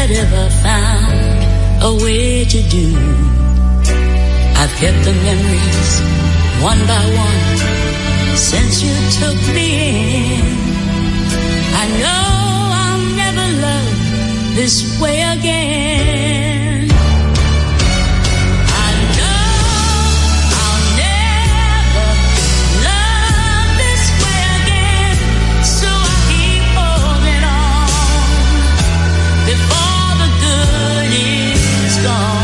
had ever found a way to do. I've kept the memories one by one since you took me in. I know I'll never love this way again. I know I'll never love this way again, so I keep holding on before the good is gone.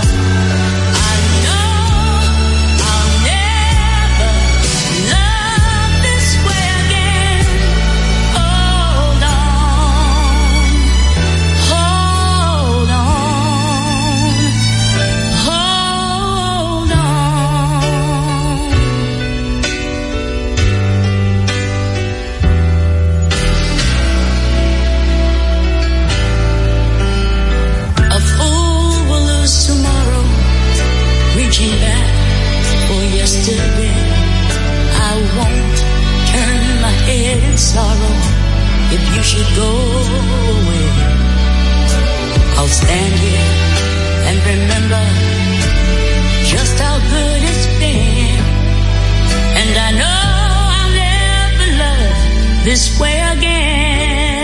Sorrow, if you should go away, I'll stand here and remember just how good it's been. And I know I'll never love this way again.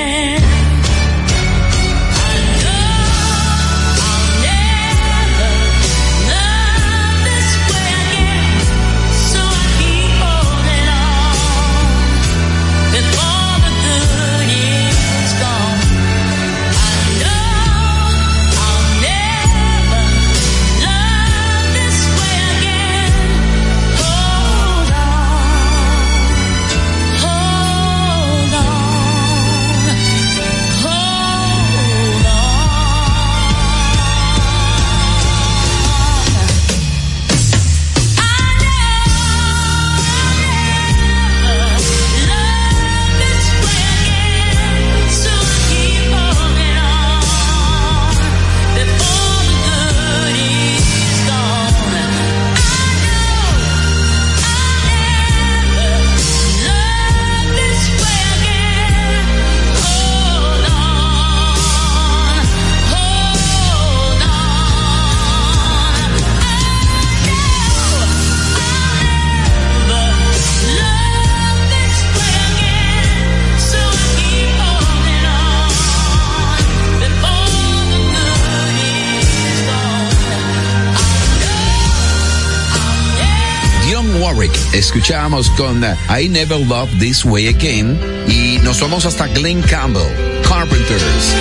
Escuchamos con I Never Loved This Way Again y nos vamos hasta Glenn Campbell, Carpenters.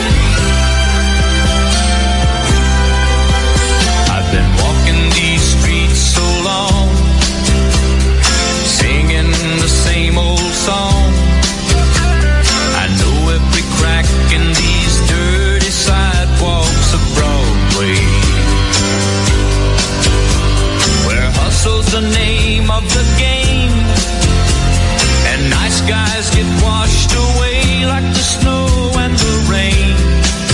I've been walking these streets so long, singing the same old song. I know every crack in these dirty sidewalks of Broadway, where hustle's the name of the game, and nice guys get washed away like the snow and the rain.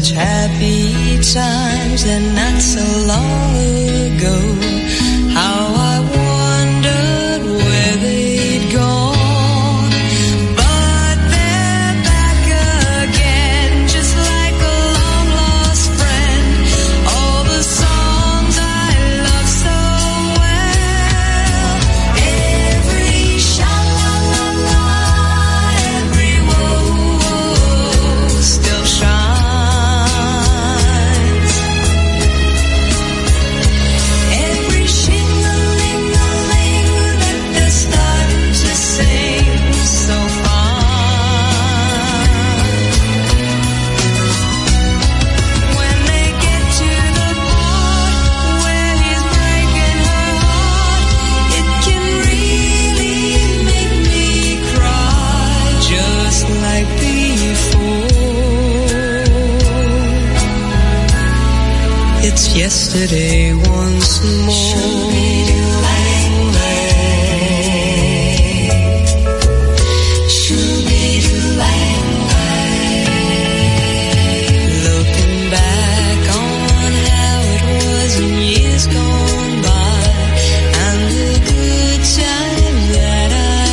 such happy times and not so long ago. How I wondered where they'd gone, but they're back again, just like a long lost friend. All the songs I love so well, every sha-la-la-la, every woe still shines. Every shing-a-ling-a-ling that they're starting to sing so fine. When they get to the part where he's breaking her heart, it can really make me cry, just like before. It's yesterday once more. Looking back on how it was in years gone by, and the good time that I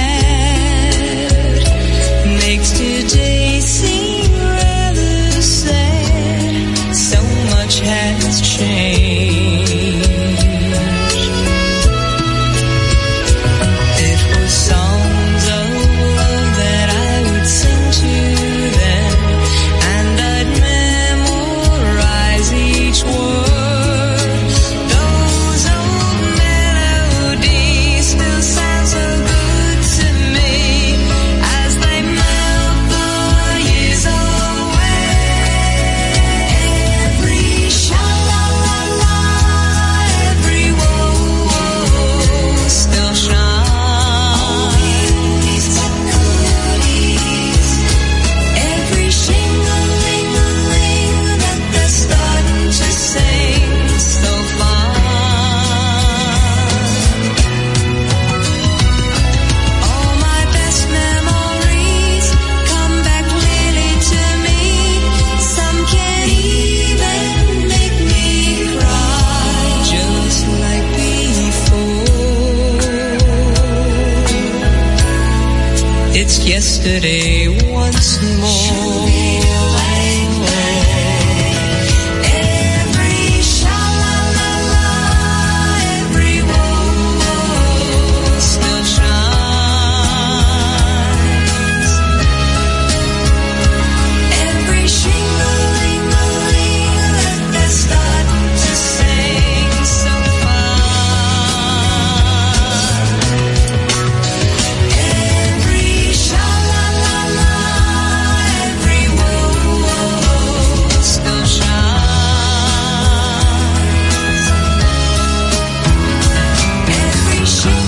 had, makes today seem rather sad. So much has changed. It was songs of love that I would sing to them, and I'd memorize each word. Those old melodies still sound so good to me as they melt the years away. Every sha-la-la-la, every woe still shines. Every shing-a-ling-a-ling that they're starting to sing so fine. All my best memories come back clearly to me. Some can even make me cry, just like before. It's yesterday once more. Every sha-la-la-la, every woe still shines. Every shing-a-ling-a-ling that they're starting to sing so fine. Every sha-la-la-la, every woe still shines. Every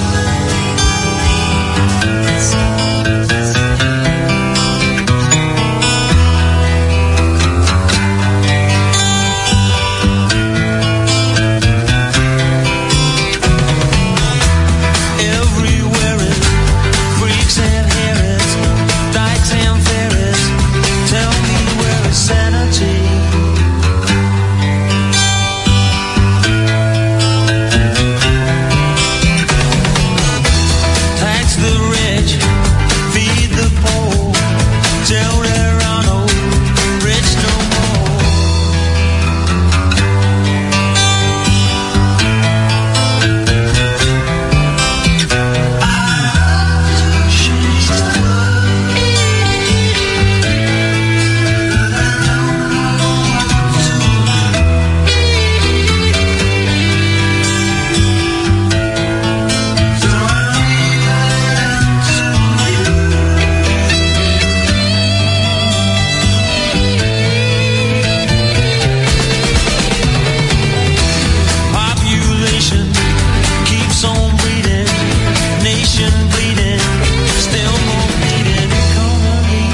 Everywhere it freaks and harrods, dykes and ferrets. Tell me where is sanity? Tax the rich, feed the poor. Tell there are no rich no more. Population keeps on breeding, nation bleeding, still more bleeding economy.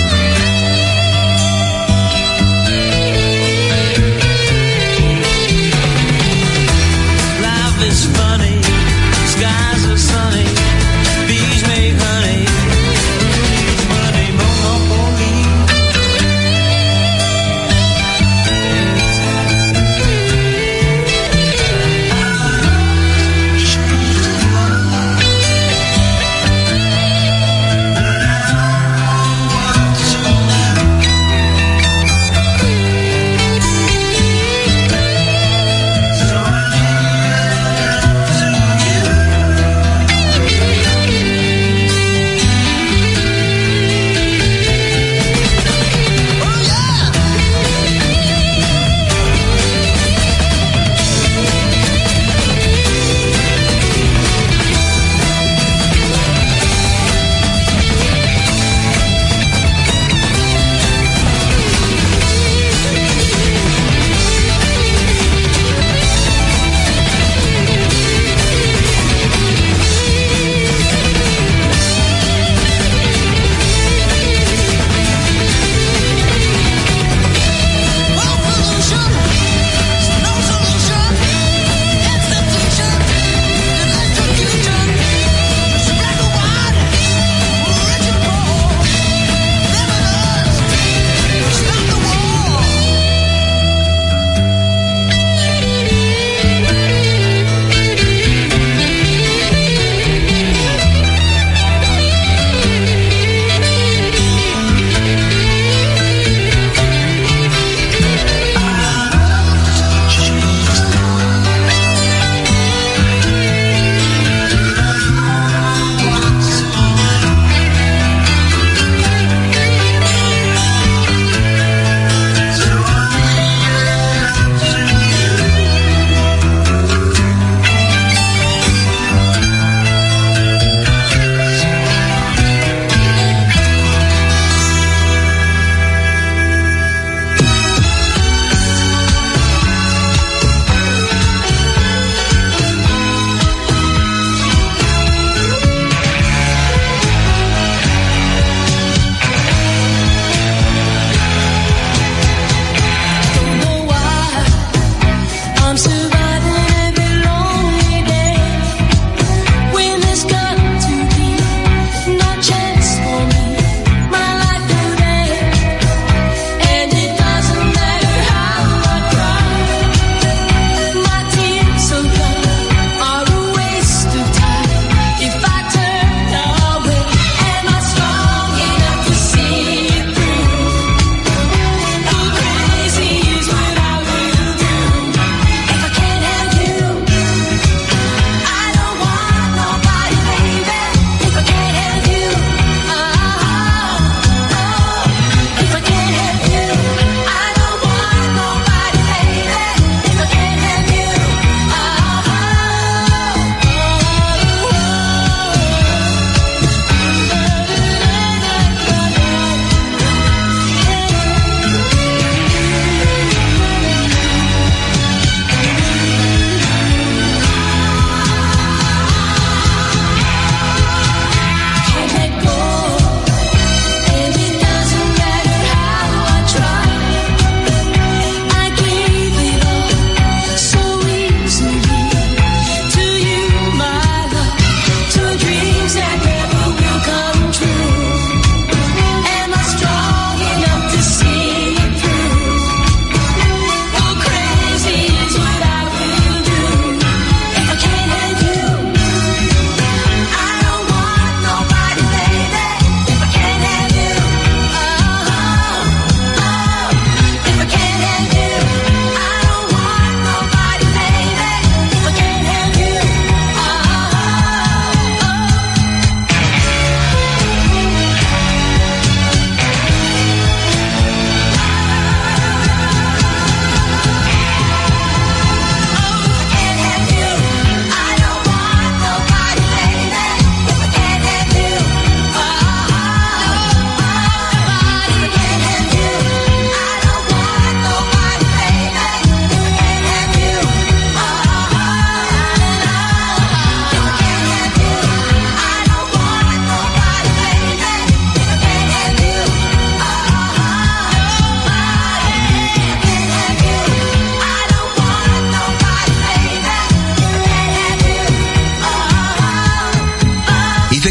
Life is funny, skies are sunny, bees make honey, money monopoly.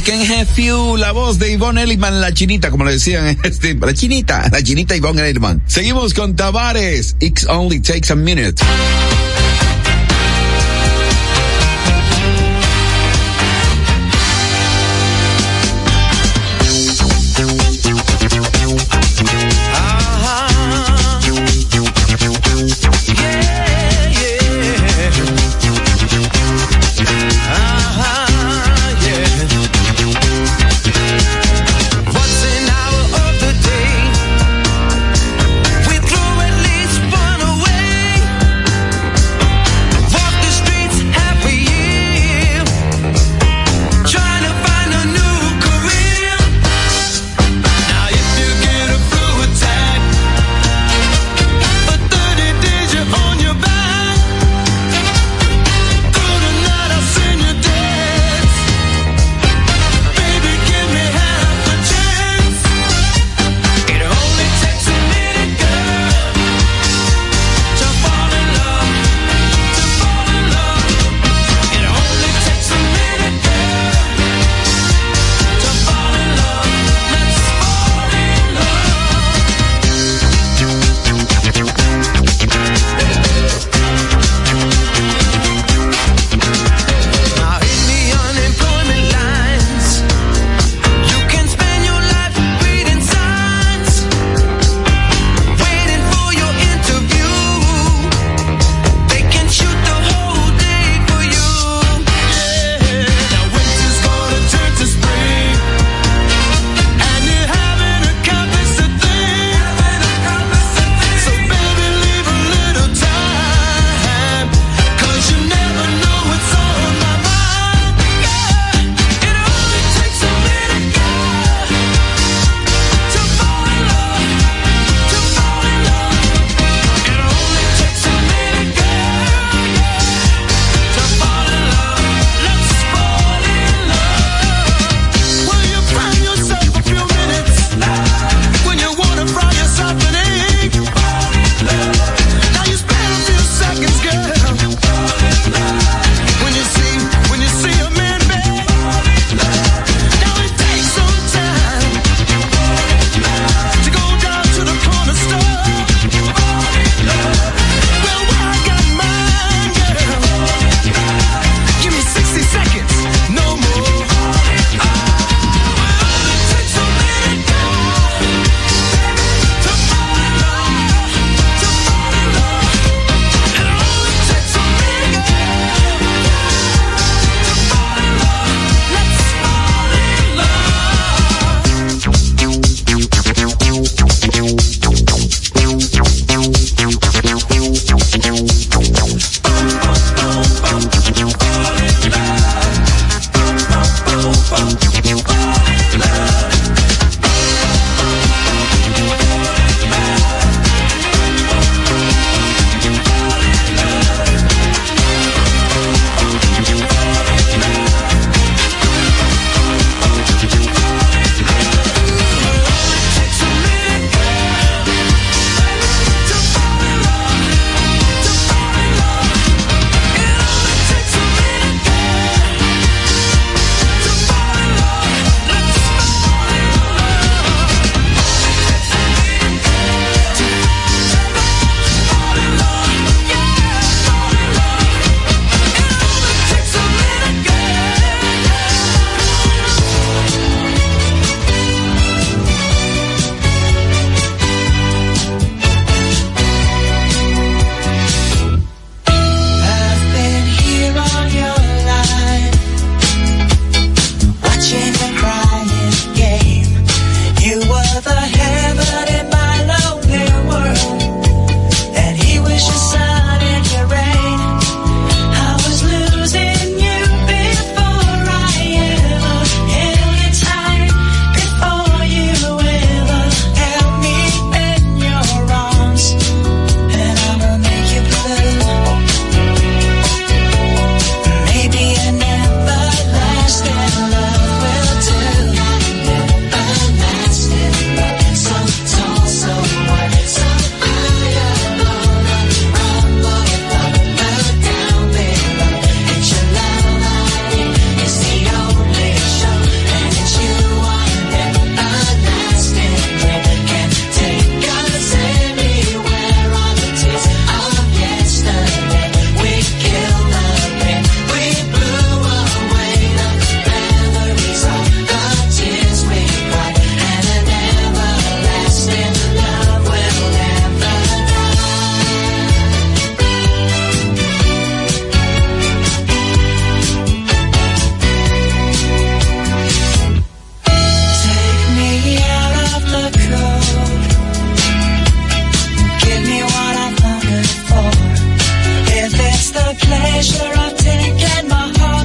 Can Have You, la voz de Yvonne Elliman, la chinita, como le decían, este, la chinita, la chinita Yvonne Elliman. Seguimos con Tavares, It Only Takes a Minute. We throw at least one away.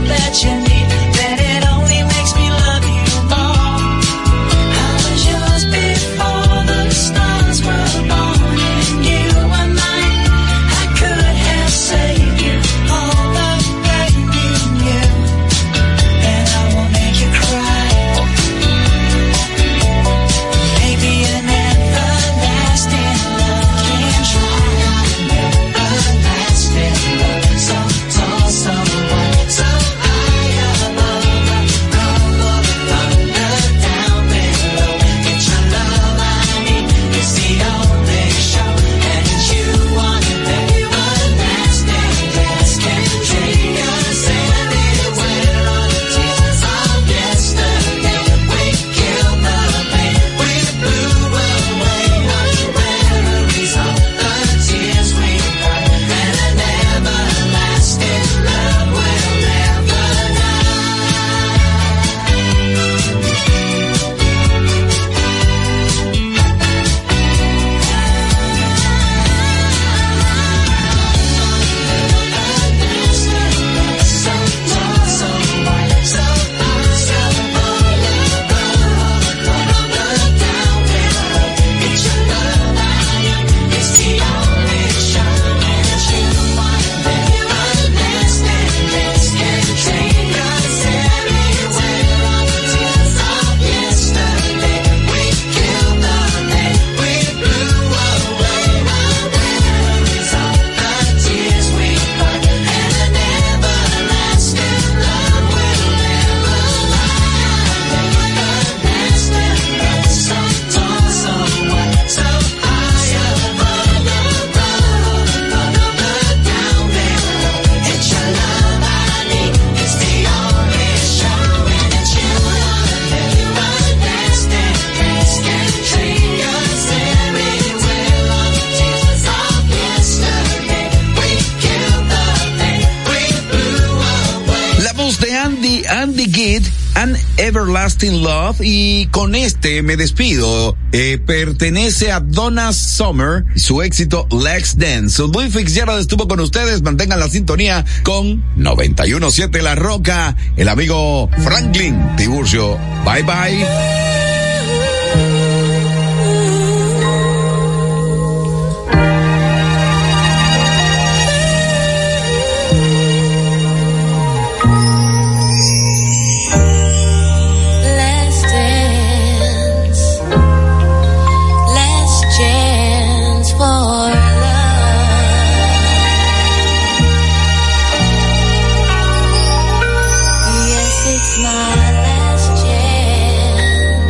that you need, then it only makes me love you more. I was yours before the stars were born, and you were mine. I could have saved you all the pain you knew, and I won't make you cry. Maybe an everlasting love can try. Everlasting love, so tall, so wide, so high above, rumble the thunder down below. It's your love I need, it's the only show, and it's you on it. Everlasting grass can take us anywhere on the tears of yesterday. We killed the pain, we blew away our memories of the tears we cried, and an everlasting love will never La voz de Andy, Andy Gibb, An Everlasting Love, y con este me despido. Eh, pertenece a Donna Summer, su éxito Let's Dance. Luis Fitzgerald estuvo con ustedes, mantengan la sintonía con noventa y uno punto siete La Roca, el amigo Franklin Tiburcio. Bye bye. Let's dance, let's chance for love. Yes, it's my last chance.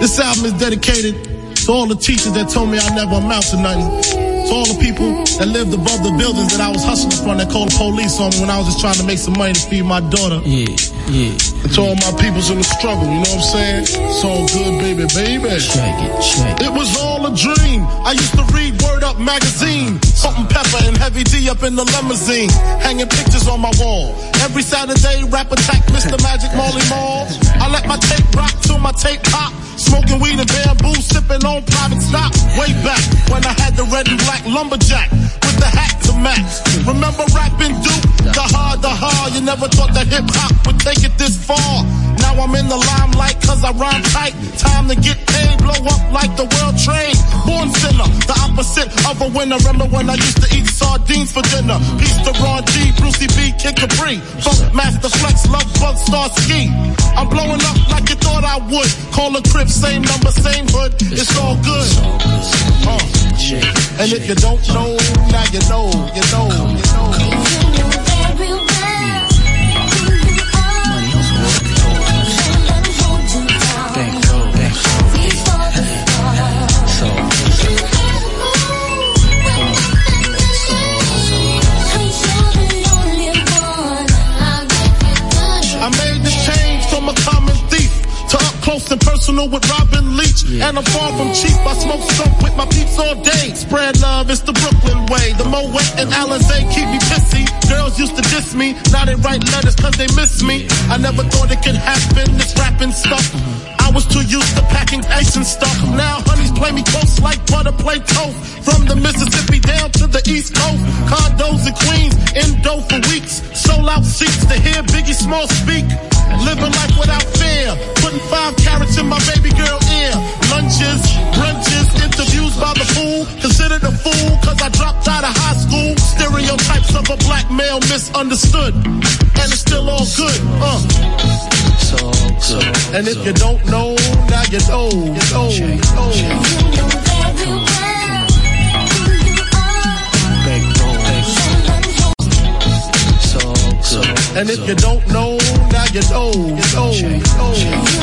This album is dedicated to all the teachers that told me I never amount to nothing. To all the people that lived above the buildings that I was hustling from that called the police on me when I was just trying to make some money to feed my daughter. Yeah, yeah. And to all my peoples in the struggle, you know what I'm saying? It's all good, baby, baby. Check it, check it. It was all a dream. I used to read Word Up magazine. Salt and Pepper and Heavy D up in the limousine. Hanging pictures on my wall. Every Saturday, Rap Attack, Mister Magic, Marley Marl. I let my tape rock till my tape pop. Smoking weed and bamboo, sipping on private stock. Way back when I had the red and black lumberjack with the hat to match. Remember rapping Duke? The hard, the hard. You never thought that hip hop would take it this far. Now I'm in the limelight cause I rhyme tight. Time to get paid, blow up like the world trade. Born sinner, the opposite of a winner. Remember when I used to eat sardines for dinner? Peace to Ron G, Brucey B, Kid Capri. Funk Master Flex, Love Bug, Star Ski. I'm blowing up like you thought I would. Call a crib, same number, same hood. It's all good. Uh. And if you don't know, now you know, you know, you know. I made this change from a common thief to up close and personal with Robin Leach. Yeah. And I'm far from cheap. I smoke soap with my peeps all day. Spread love, it's the Brooklyn way. The Moet and Alizé keep me pissy. Girls used to diss me. Now they write letters cause they miss me. I never thought it could happen, this rapping stuff. I was too used to packing ice and stuff. Now honeys play me close like butter play toast. From the Mississippi down to the East Coast. Condos and Queens, Indo for weeks. Sold out seats to hear Biggie Small speak. Living life without fear. Putting five carats in my baby girl ear. Lunches, brunches, interviews by the fool. Considered a fool cause I dropped out of high school. Stereotypes of a black male misunderstood. And it's still all good, uh. So good. And if you don't know, now you know, you know, you know. And if you don't know, now you know, you know, you know.